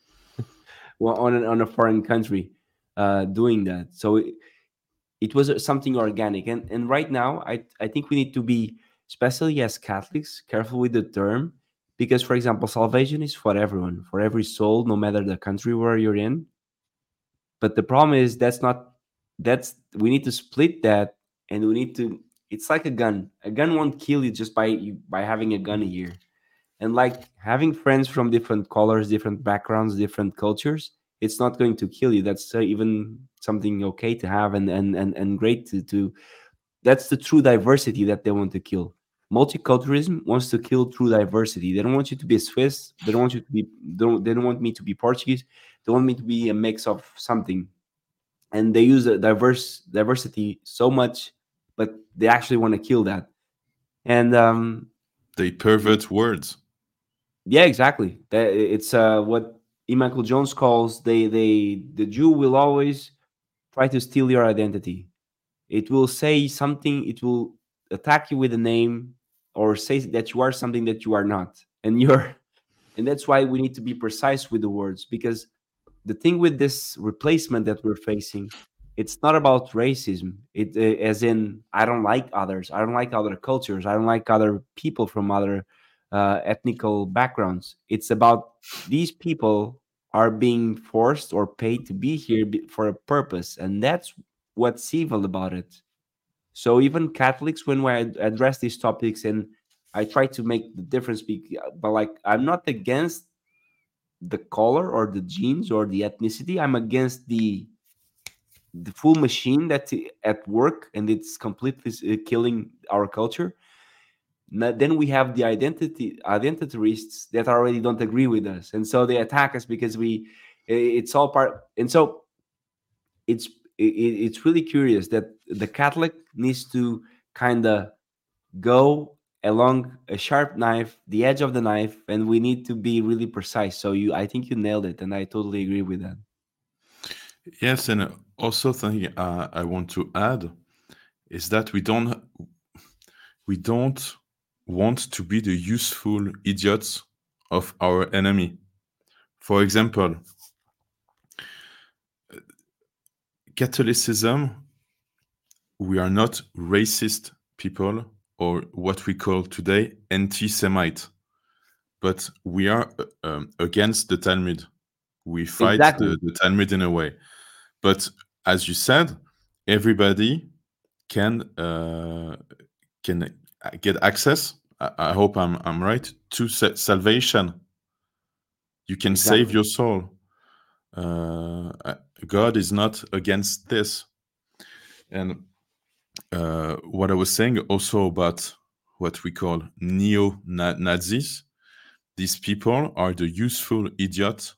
on a foreign country doing that. So it was something organic, and right now I think we need to be, especially as Catholics, careful with the term, because for example, salvation is for everyone, for every soul, no matter the country where you're in. But the problem is that's not, that's, we need to split that, and we need to, it's like a gun won't kill you just by having a gun here. And like having friends from different colors, different backgrounds, different cultures, it's not going to kill you. That's even something okay to have, and great to that's the true diversity that they want to kill. Multiculturalism wants to kill true diversity. They don't want you to be Swiss. They don't want you to be. They don't want me to be Portuguese. They want me to be a mix of something. And they use the diversity so much, but they actually want to kill that. And They pervert words. yeah, exactly. It's what E. Michael Jones calls, the Jew will always try to steal your identity. It will say something. It will attack you with a name, or say that you are something that you are not, and you're. And that's why we need to be precise with the words, because the thing with this replacement that we're facing, it's not about racism. As in, I don't like others. I don't like other cultures. I don't like other people from other ethnical backgrounds. It's about these people are being forced or paid to be here for a purpose, and that's what's evil about it. So even Catholics, when I address these topics, and I try to make the difference, but like I'm not against the color or the genes or the ethnicity. I'm against the full machine that's at work, and it's completely killing our culture. Then we have the identitarists that already don't agree with us, and so they attack us because it's all part. And so it's it's really curious that the Catholic needs to kind of go along a sharp knife, the edge of the knife, and we need to be really precise. So I think you nailed it, and I totally agree with that. Yes, and also something I want to add is that we don't want to be the useful idiots of our enemy. For example, Catholicism, we are not racist people or what we call today anti-Semite, but we are against the Talmud. We fight Exactly. the Talmud in a way. But as you said, everybody can get access. I hope I'm right, to salvation. You can save Exactly. your soul. God is not against this. And what I was saying also about what we call neo-Nazis, these people are the useful idiots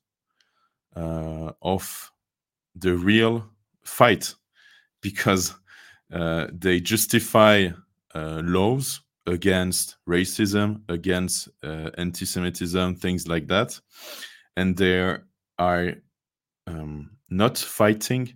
of the real fight, because they justify laws against racism, against anti-Semitism, things like that, and they are not fighting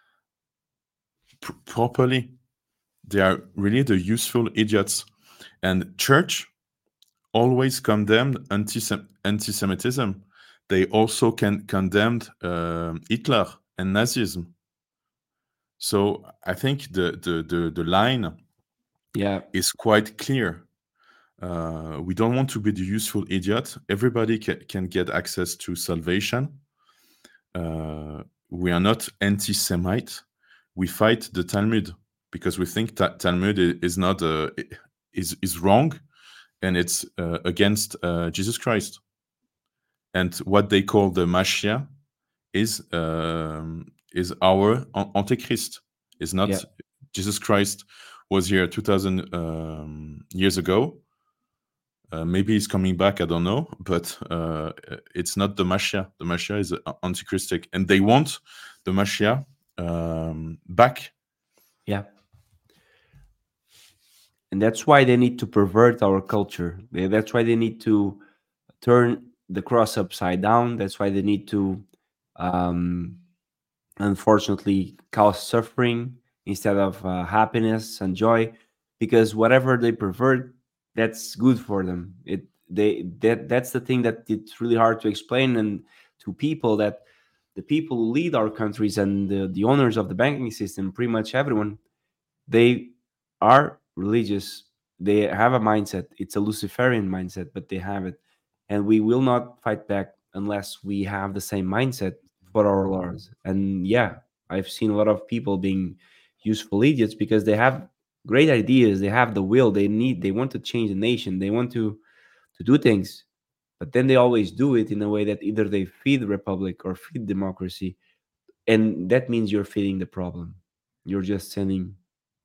properly. They are really the useful idiots. And church always condemned anti-Semitism. They also condemned Hitler and Nazism. So I think the line Yeah. is quite clear. We don't want to be the useful idiot. Everybody can get access to salvation. We are not anti-Semite. We fight the Talmud. because we think that Talmud is not is wrong, and it's against Jesus Christ. And what they call the Mashiach is our Antichrist. Is Yeah. not Jesus Christ was here 2,000 years ago. Maybe he's coming back. I don't know, but it's not the Mashiach. The Mashiach is antichristic, and they want the Mashiach back. Yeah. And that's why they need to pervert our culture. That's why they need to turn the cross upside down. That's why they need to, um, unfortunately, cause suffering instead of happiness and joy, because whatever they pervert, that's good for them. That's the thing that it's really hard to explain and to people, that the people who lead our countries and the owners of the banking system, pretty much everyone, they are religious. They have a mindset. It's a Luciferian mindset, but they have it. And we will not fight back unless we have the same mindset for our laws. And yeah, I've seen a lot of people being useful idiots because they have great ideas. They have the will. They want to change the nation. They want to do things. But then they always do it in a way that either they feed the republic or feed democracy. And that means you're feeding the problem. You're just sending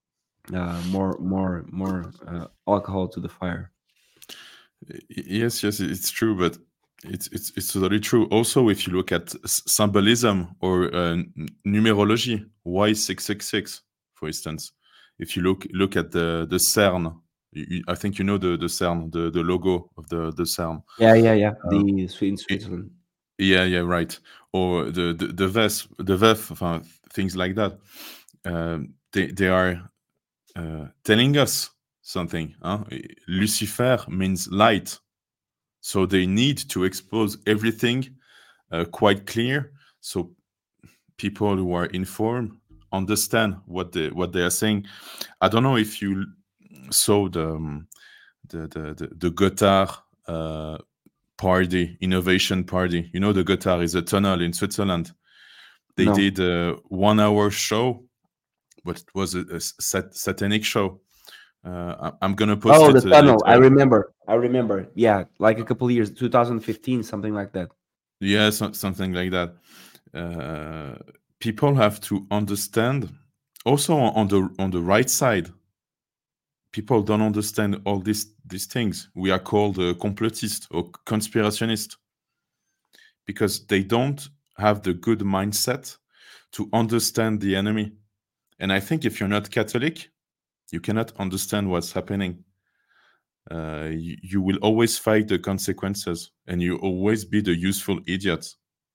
more alcohol to the fire. Yes, it's true, but it's totally true. Also, if you look at symbolism or numerology, why 666, for instance? If you look at the CERN, I think you know the CERN, the logo of the CERN. Yeah. Uh, In it- Switzerland. yeah, right. Or the VEF, things like that. They are telling us something. Huh? Lucifer means light, so they need to expose everything quite clear, so people who are informed understand what they are saying. I don't know if you saw the Gotthard party, innovation party. You know, the Gotthard is a tunnel in Switzerland. They No. did a 1 hour show, but it was a satanic show. I'm gonna post Oh, it the tunnel. I later. remember. I remember. Yeah, like a couple of years, 2015, something like that. Yeah, something like that. People have to understand. Also, on the right side, people don't understand all these things. We are called complotist or conspirationist because they don't have the good mindset to understand the enemy. And I think if you're not Catholic, you cannot understand what's happening. You will always fight the consequences, and you always be the useful idiot.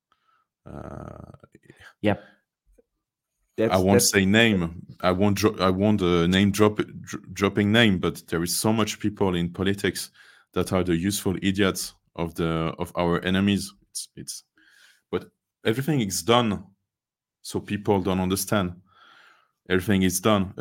Yep. I That's won't that's say name. I won't name dropping name. But there is so much people in politics that are the useful idiots of our enemies. It's but everything is done, so people don't understand. Everything is done.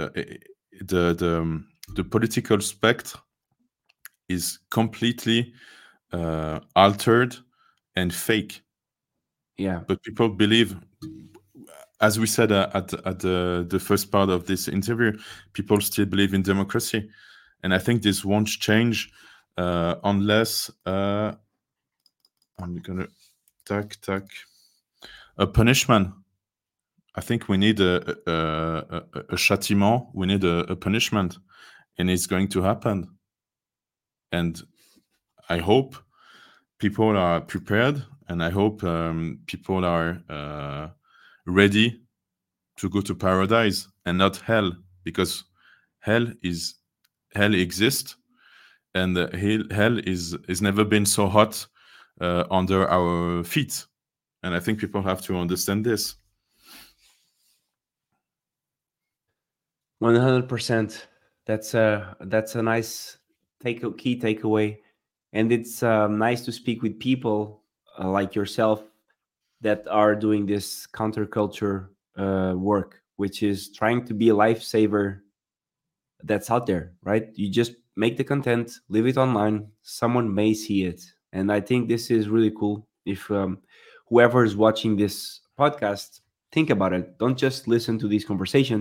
The political spectrum is completely altered and fake. yeah. But people believe, as we said at the first part of this interview, people still believe in democracy, and I think this won't change unless I'm gonna tac a punishment. I think we need a châtiment. We need a punishment, and it's going to happen. And I hope people are prepared, and I hope people are ready to go to paradise and not hell, because hell exists, and hell is never been so hot under our feet, and I think people have to understand this. 100%. That's a nice key takeaway, and it's nice to speak with people like yourself that are doing this counterculture work, which is trying to be a lifesaver that's out there, right? You just make the content, leave it online. Someone may see it, and I think this is really cool. If whoever is watching this podcast, think about it. Don't just listen to these conversations.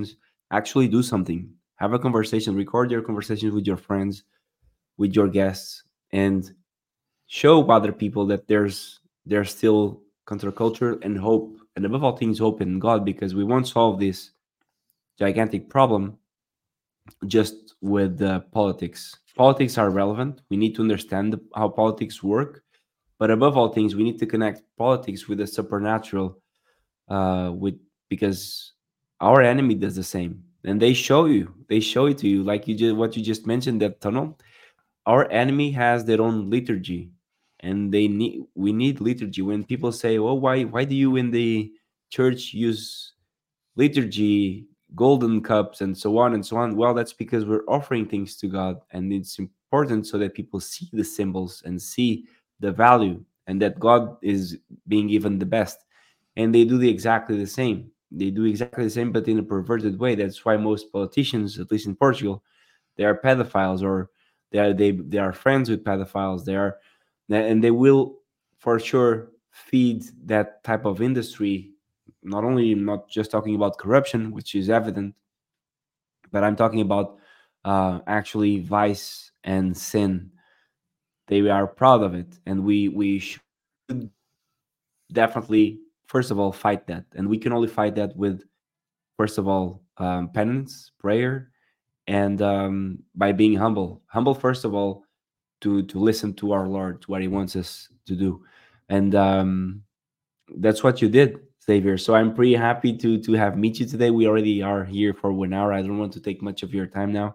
Actually do something. Have a conversation, record your conversations with your friends, with your guests, and show other people that there's still counterculture and hope, and above all things hope in God, because we won't solve this gigantic problem just with politics. Politics are relevant. We need to understand how politics work, but above all things, we need to connect politics with the supernatural, with because our enemy does the same, and they show it to you, like you just what you just mentioned, that tunnel. Our enemy has their own liturgy, and we need liturgy. When people say, "Oh, why do you in the church use liturgy, golden cups, and so on and so on?" Well, that's because we're offering things to God, and it's important so that people see the symbols and see the value, and that God is being given the best. And they do the exactly the same. They do exactly the same, but in a perverted way. That's why most politicians, at least in Portugal, they are pedophiles, or they are friends with pedophiles. They are, and they will for sure feed that type of industry. Not only, not just talking about corruption, which is evident, but I'm talking about actually vice and sin. They are proud of it, and we should definitely, first of all, fight that, and we can only fight that with, first of all, penance, prayer, and by being humble first of all, to listen to our Lord, to what He wants us to do, and that's what you did, Xavier. So I'm pretty happy to have meet you today. We already are here for 1 hour. I don't want to take much of your time now.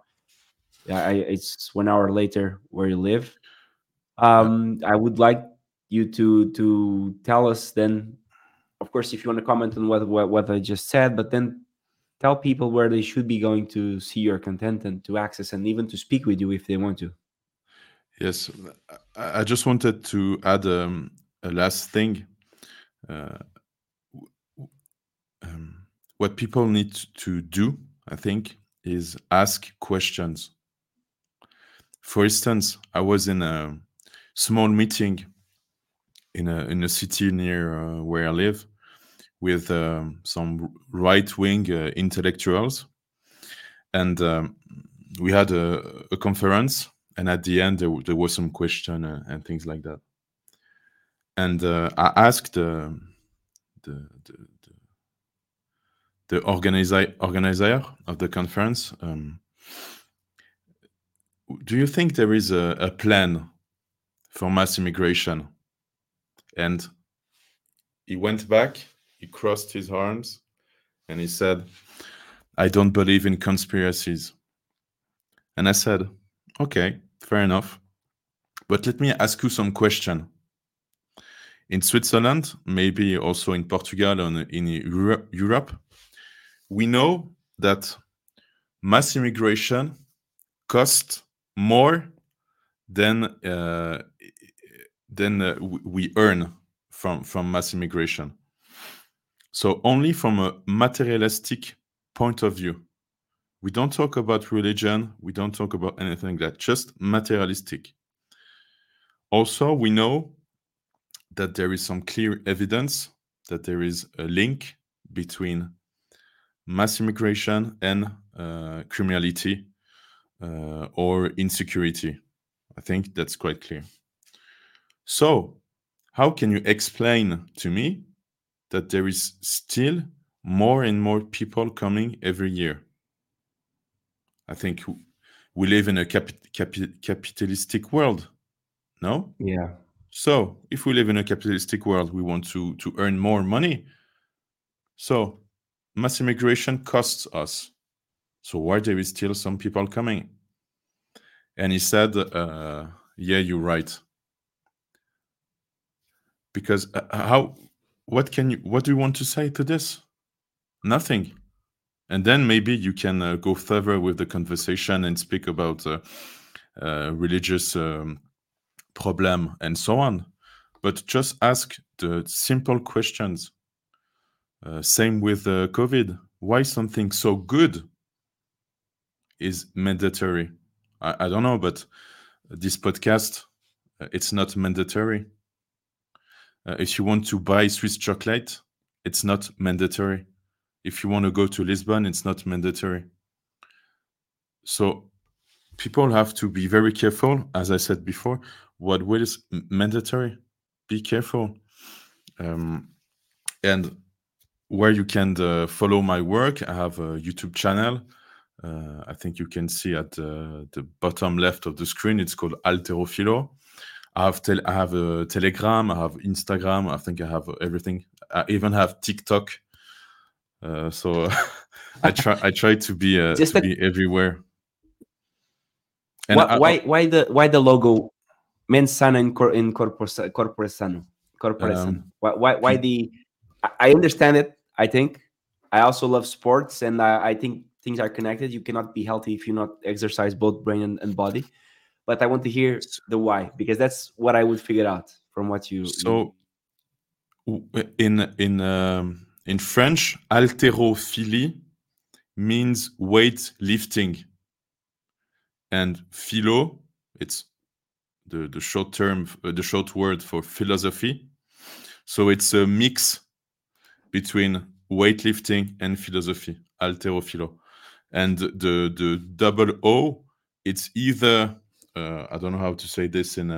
It's 1 hour later where you live. Yeah. I would like you to tell us then, of course, if you want to comment on what I just said, but then tell people where they should be going to see your content and to access and even to speak with you if they want to. Yes, I just wanted to add a last thing. Uh, what people need to do, I think, is ask questions. For instance, I was in a small meeting in a city near where I live with some right wing intellectuals, and we had a conference. And at the end, there was some question and things like that. And I asked the, the, the organizer of the conference, do you think there is a plan for mass immigration? And he went back, he crossed his arms, and he said, I don't believe in conspiracies. And I said, okay, fair enough. But let me ask you some question. In Switzerland, maybe also in Portugal and in Europe, we know that mass immigration costs more than we earn from mass immigration. So only from a materialistic point of view. We don't talk about religion. We don't talk about anything like that, just materialistic. Also, we know that there is some clear evidence that there is a link between mass immigration and criminality or insecurity. I think that's quite clear. So, how can you explain to me that there is still more and more people coming every year? I think we live in a capitalistic world, no? Yeah. So, if we live in a capitalistic world, we want to earn more money. So, mass immigration costs us. So, why there is still some people coming? And he said, yeah, you're right. Because what do you want to say to this? Nothing. And then maybe you can go further with the conversation and speak about religious problem and so on. But just ask the simple questions. Same with COVID. Why something so good is mandatory? I don't know, but this podcast, it's not mandatory. If you want to buy Swiss chocolate, it's not mandatory. If you want to go to Lisbon, it's not mandatory. So people have to be very careful. As I said before, what is mandatory? Be careful. And where you can follow my work, I have a YouTube channel. I think you can see at the bottom left of the screen. It's called Alterophilo. I have a Telegram. I have Instagram. I think I have everything. I even have TikTok. So I try to be everywhere. And why the logo Mens Sana in Corpore Sano? Why the? I understand it. I think I also love sports, and I think things are connected. You cannot be healthy if you not exercise both brain and body. But I want to hear the why, because that's what I would figure out from what you. So in French, haltérophilie means weight lifting, and philo, it's the short word for philosophy. So it's a mix between weightlifting and philosophy, haltérophilo. And the double O, it's either I don't know how to say this in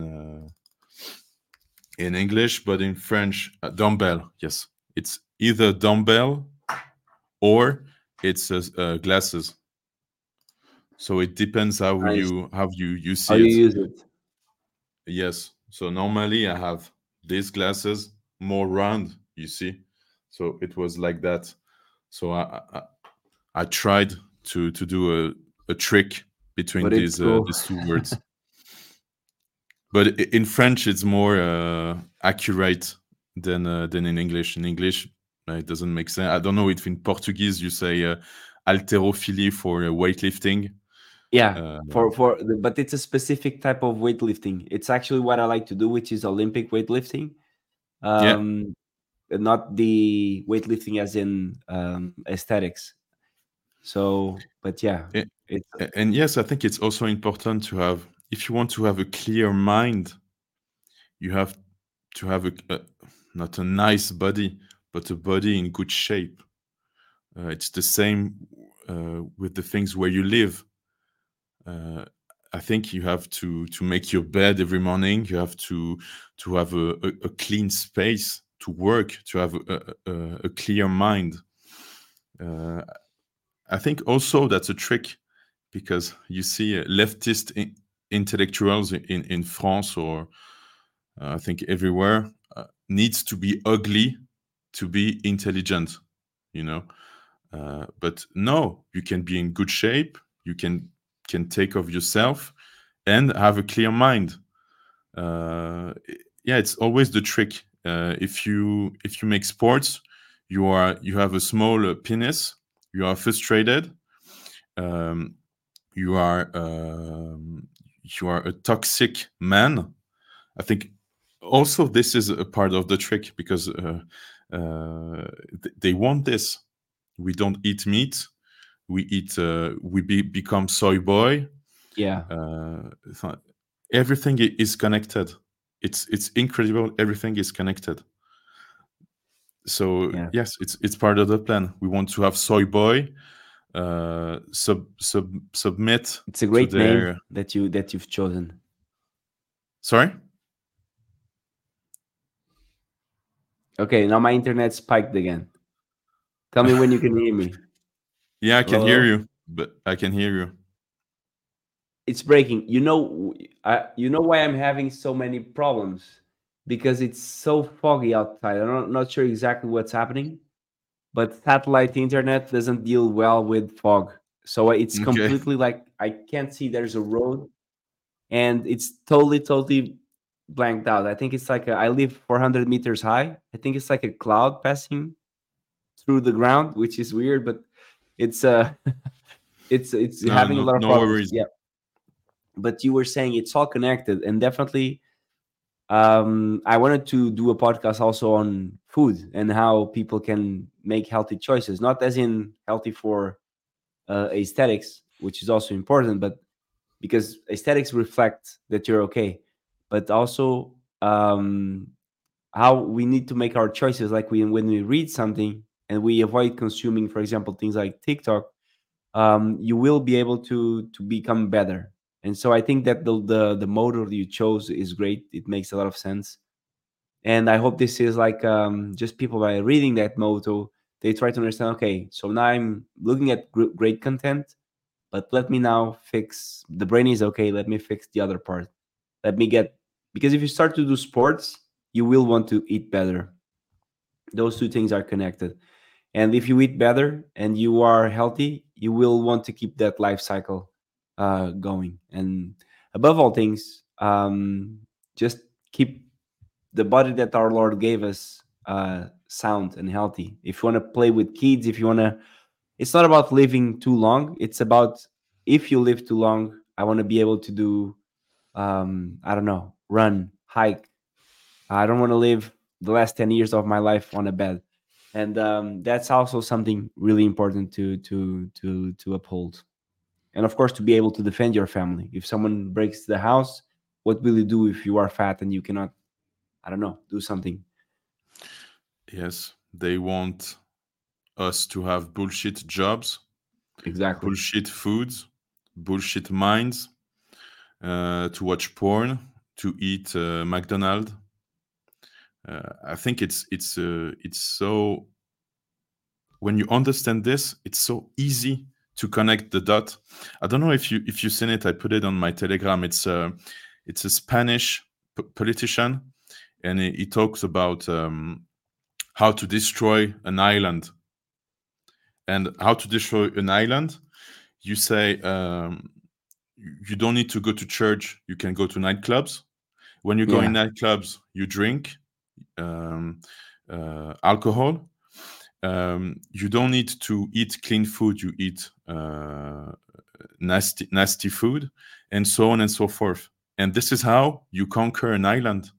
English, but in French, dumbbell. Yes, it's either dumbbell or it's glasses. So it depends how you see how you use it. Yes. So normally I have these glasses more round, you see. So it was like that. So I tried to do a trick between these two words. But in French, it's more accurate than in English. In English, it doesn't make sense. I don't know if in Portuguese you say haltérophilie for weightlifting. Yeah, but it's a specific type of weightlifting. It's actually what I like to do, which is Olympic weightlifting. Not the weightlifting as in aesthetics. So, but yeah. And yes, I think it's also important to have, if you want to have a clear mind, you have to have not a nice body, but a body in good shape. It's the same with the things where you live. I think you have to make your bed every morning. You have to have a clean space to work, to have a clear mind. I think also that's a trick, because you see leftist intellectuals in France, or I think everywhere, needs to be ugly to be intelligent, you know. But no, you can be in good shape. You can take of yourself and have a clear mind. Yeah, it's always the trick. If you make sports, you have a small penis. You are frustrated. You are a toxic man. I think also this is a part of the trick, because they want this. We don't eat meat. We eat. Become soy boy. Yeah. Everything is connected. It's incredible. Everything is connected. So yeah. Yes, it's part of the plan. We want to have soy boy submit. It's a great name that you've chosen. Sorry. Okay, now my internet spiked again. Tell me when you can hear me. Yeah, I can hear you, but I can hear you. It's breaking. You know why I'm having so many problems? Because it's so foggy outside. I'm not sure exactly what's happening, but satellite internet doesn't deal well with fog. So it's completely like I can't see there's a road, and it's totally blanked out. I think it's like I live 400 meters high. I think it's like a cloud passing through the ground, which is weird, but it's it's having a lot of problems. Worries. Yeah. But you were saying it's all connected, and definitely I wanted to do a podcast also on food and how people can make healthy choices, not as in healthy for aesthetics, which is also important, but because aesthetics reflect that you're okay, but also how we need to make our choices. Like when we read something, and we avoid consuming, for example, things like TikTok, you will be able to become better. And so I think that the motto you chose is great. It makes a lot of sense. And I hope this is like, just people by reading that motto, they try to understand, okay, so now I'm looking at great content, but let me now fix the brain is okay, let me fix the other part. Let me get, because if you start to do sports, you will want to eat better. Those two things are connected. And if you eat better and you are healthy, you will want to keep that life cycle going. And above all things, just keep the body that our Lord gave us sound and healthy. If you want to play with kids, if you want to, it's not about living too long. It's about, if you live too long, I want to be able to do, I don't know, run, hike. I don't want to live the last 10 years of my life on a bed. And that's also something really important to uphold. And of course, to be able to defend your family. If someone breaks the house, what will you do if you are fat and you cannot, I don't know, do something? Yes, they want us to have bullshit jobs, Exactly. bullshit foods, bullshit minds, to watch porn, to eat McDonald's. I think it's so, when you understand this, it's so easy to connect the dot. I don't know if you've seen it. I put it on my Telegram. It's a Spanish politician, and he talks about how to destroy an island. And how to destroy an island, you say, you don't need to go to church. You can go to nightclubs. When you go in Yeah. nightclubs, you drink alcohol. You don't need to eat clean food. You eat nasty food, and so on and so forth. And this is how you conquer an island.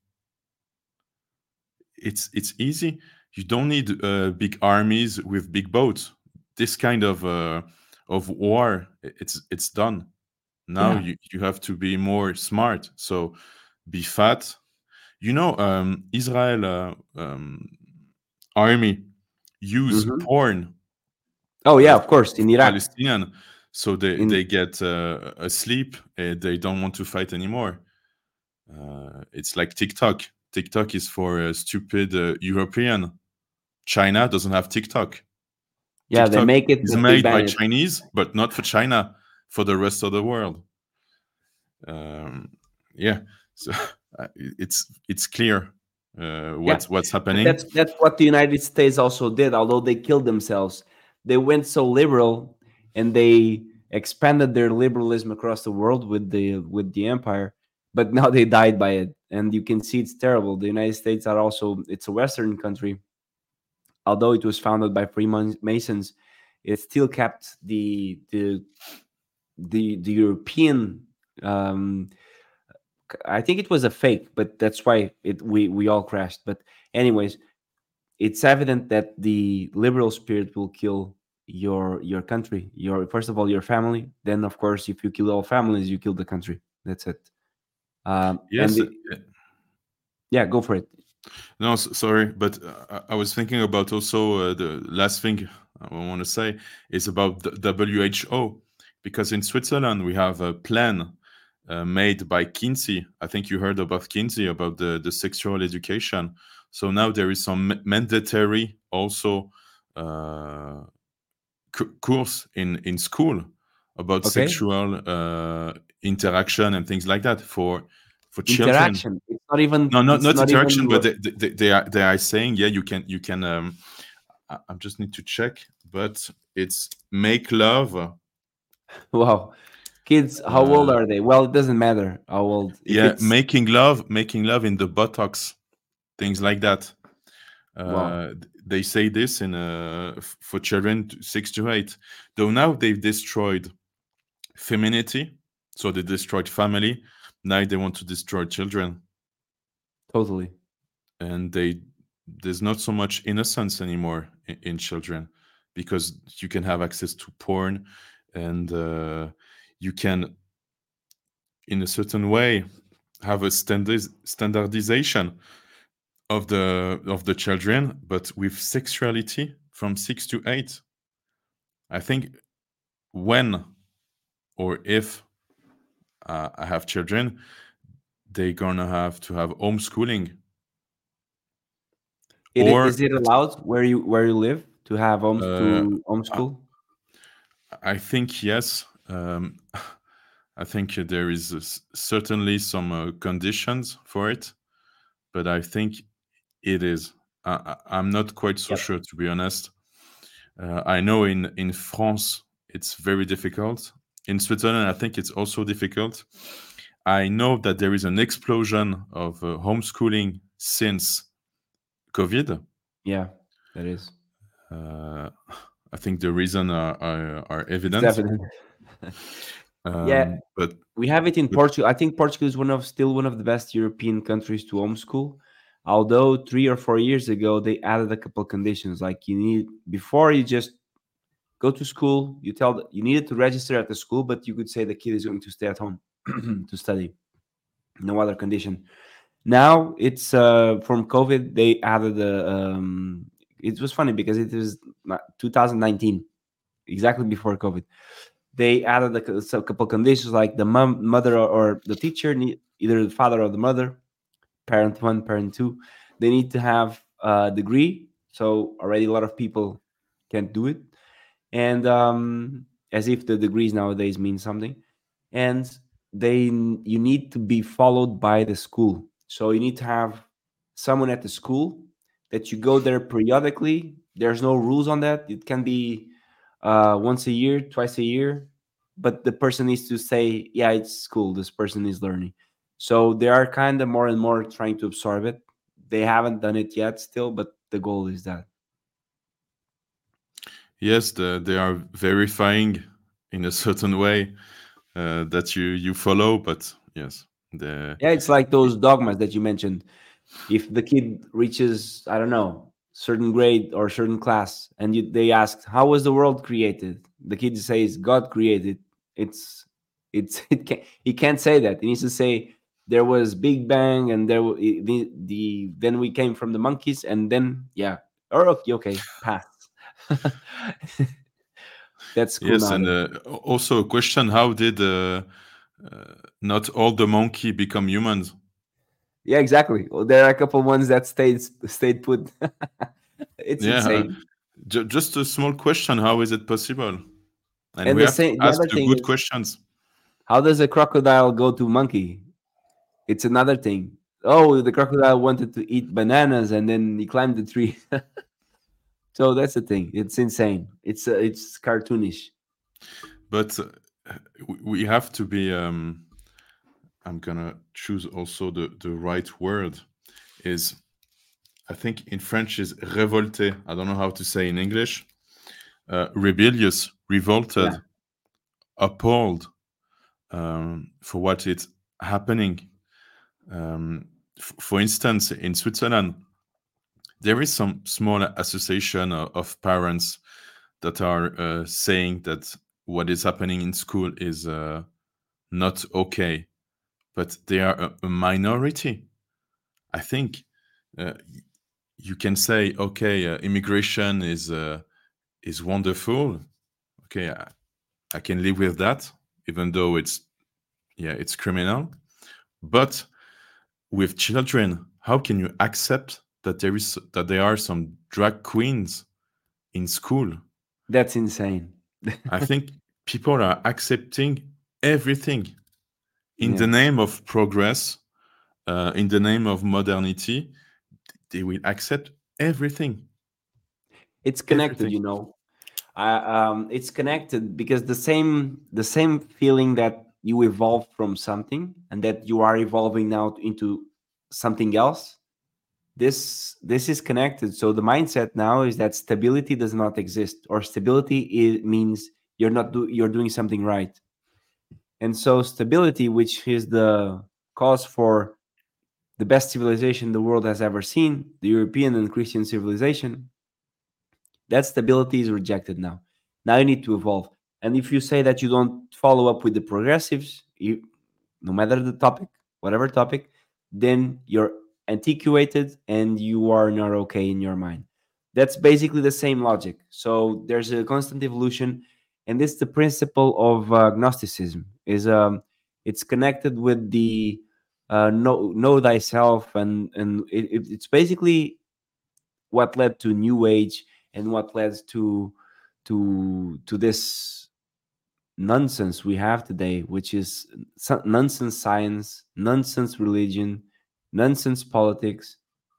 It's easy. You don't need big armies with big boats. This kind of war, it's done. Now Yeah. you have to be more smart. So be fat. You know, Israel army use Hmm. porn Oh, yeah, of for course. In Iraq. Palestinian, so they In get asleep. They don't want to fight anymore. It's like TikTok. TikTok is for stupid European. China doesn't have TikTok. Yeah, they TikTok make it, is but they made ban by it. Chinese, but not for China, for the rest of the world. Um, yeah, so it's clear Yeah, what's but happening. that's what the United States also did. Although they killed themselves, they went so liberal, and they expanded their liberalism across the world with the empire. But now they died by it, and you can see it's terrible. The United States are also, it's a Western country. Although it was founded by Freemasons, it still kept the European. Um, I think it was a fake, but that's why we all crashed. But anyways, it's evident that the liberal spirit will kill your country, your, first of all, your family. Then of course, if you kill all families, you kill the country. That's it. And Yes, yeah, go for it. no, sorry, but I was thinking about also the last thing I want to say is about the WHO, because in Switzerland we have a plan made by Kinsey. I think you heard about Kinsey, about the sexual education. So now there is some mandatory also uh, course in school about Okay. sexual interaction and things like that for children. Interaction. It's not even. No, not It's not not interaction, even. but they are saying, yeah, you can. I just need to check, but it's make love. Wow. Kids, how old Uh, are they? Well, it doesn't matter how old. If yeah, it's, making love in the buttocks, things like that. wow, They say this in for children 6 to 8. Though now they've destroyed femininity, so they destroyed family. Now they want to destroy children, totally. and there's not so much innocence anymore in children, because you can have access to porn, and you can, in a certain way, have a standardization of the children, but with sexuality from 6 to 8. I think when or if I have children, they're gonna have to have homeschooling, or Is it allowed where you live to have uh, I homeschool? I think yes. I think there is certainly some conditions for it, but I think it is. I'm not quite so Yep. sure, to be honest. I know in France it's very difficult. In Switzerland, I think it's also difficult. I know that there is an explosion of homeschooling since COVID. Yeah, that is. Uh, I think the reason are It's evident. definitely. Yeah, Um, but we have it in but Portugal. I think Portugal is still one of the best European countries to homeschool. Although 3 or 4 years ago they added a couple conditions, like you need before you just go to school, you needed to register at the school, but you could say the kid is going to stay at home to study. No other condition. Now it's from COVID. They added the. It was funny because it was 2019, exactly before COVID. They added a couple conditions like the mother or the teacher, either the father or the mother, parent one, parent two. They need to have a degree. So already a lot of people can't do it, and as if the degrees nowadays mean something. And you need to be followed by the school, so you need to have someone at the school that you go there periodically. There's no rules on that. It can be once a year, twice a year, but the person needs to say, yeah, it's school, this person is learning. So they are kind of more and more trying to absorb it. They haven't done it yet still, but the goal is that. yes, they are verifying in a certain way that you follow. But yes, the Yeah, it's like those dogmas that you mentioned. If the kid reaches, I don't know, certain grade or certain class, and they asked, how was the world created, the kid says God created. It's he can't say that. He needs to say there was big bang, and the then we came from the monkeys, and then yeah, or okay, okay, pass. That's cool yes, and nowadays. also a question: how did not all the monkey become humans? Yeah, exactly. Well, there are a couple ones that stayed put. It's Yeah, insane. just a small question: how is it possible? And And we have to the ask other the thing good is, questions. how does a crocodile go to monkey? It's another thing. Oh, the crocodile wanted to eat bananas and then he climbed the tree. So that's the thing. It's insane. It's cartoonish. But we have to be. I'm gonna choose also the right word. Is I think in French is révolté. I don't know how to say in English. Rebellious, Yeah, revolted, appalled for what is happening. For instance, in Switzerland, there is some small association of parents that are saying that what is happening in school is not okay, but they are a minority. I think uh, you can say, okay, immigration is wonderful. Okay, I can live with that, even though it's criminal. But with children, how can you accept that there are some drag queens in school? that's insane. I think people are accepting everything in the Yeah, name of progress, in the name of modernity. They will accept everything, it's connected. everything. It's connected because the same feeling that you evolved from something and that you are evolving now into something else. This is connected. So the mindset now is that stability does not exist, or stability means you're doing something right. And so stability, which is the cause for the best civilization the world has ever seen, the European and Christian civilization, that stability is rejected now. Now you need to evolve. And if you say that you don't follow up with the progressives, no matter the topic, whatever topic, then you're antiquated and you are not okay in your mind. That's basically the same logic. So there's a constant evolution, and this the principle of Gnosticism. Is It's connected with the know thyself, and it's basically what led to New Age and what led to this nonsense we have today, which is nonsense science, nonsense religion, nonsense politics,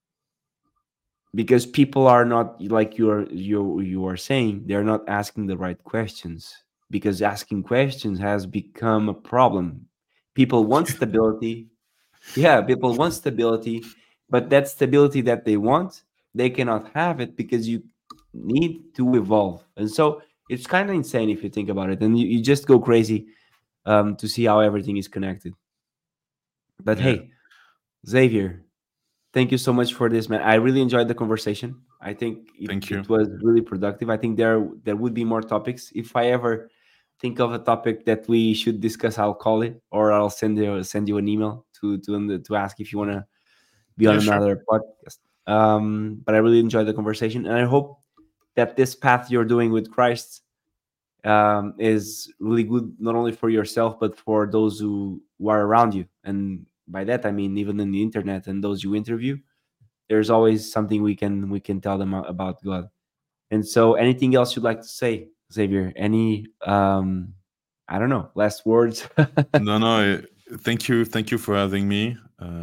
because people are not, like you are saying, they're not asking the right questions, because asking questions has become a problem. People want stability. Yeah, people want stability, but that stability that they want, they cannot have it because you need to evolve. And so it's kind of insane if you think about it, and you just go crazy to see how everything is connected. But Yeah. hey, Xavier, thank you so much for this, man. I really enjoyed the conversation. I think Thank you. it was really productive. I think there would be more topics. If I ever think of a topic that we should discuss, I'll call it, or I'll send you an email to ask if you want to be on Yeah, sure. another podcast. But I really enjoyed the conversation, and I hope that this path you're doing with Christ is really good, not only for yourself but for those who are around you. And by that I mean even in the internet and those you interview. There's always something we can tell them about God. And so, anything else you'd like to say, Xavier? Any I don't know, last words? No, no. Thank you for having me.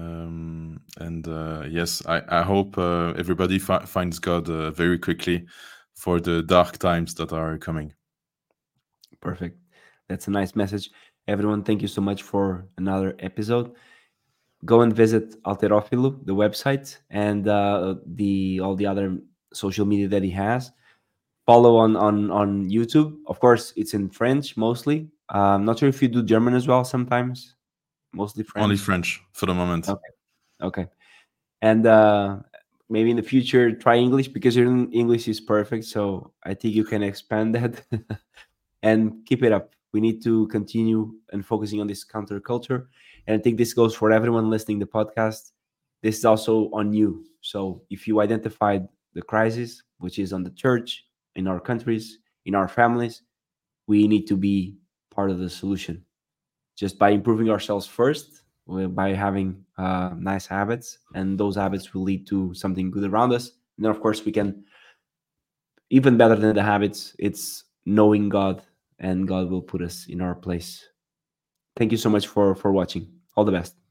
And yes, I hope everybody finds God very quickly for the dark times that are coming. Perfect. That's a nice message. Everyone, thank you so much for another episode. Go and visit Alterofilu, the website, and the all the other social media that he has. Follow on YouTube. Of course, it's in French mostly. Not sure if you do German as well sometimes. Mostly Only French. French for the moment. Okay. Okay. And maybe in the future try English, because your English is perfect. So I think you can expand that and keep it up. We need to continue and focusing on this counterculture. And I think this goes for everyone listening to the podcast. This is also on you. So if you identified the crisis, which is on the church, in our countries, in our families, we need to be part of the solution. Just by improving ourselves first, by having nice habits, and those habits will lead to something good around us. And then, of course, we can, even better than the habits, it's knowing God, and God will put us in our place. Thank you so much for watching. All the best.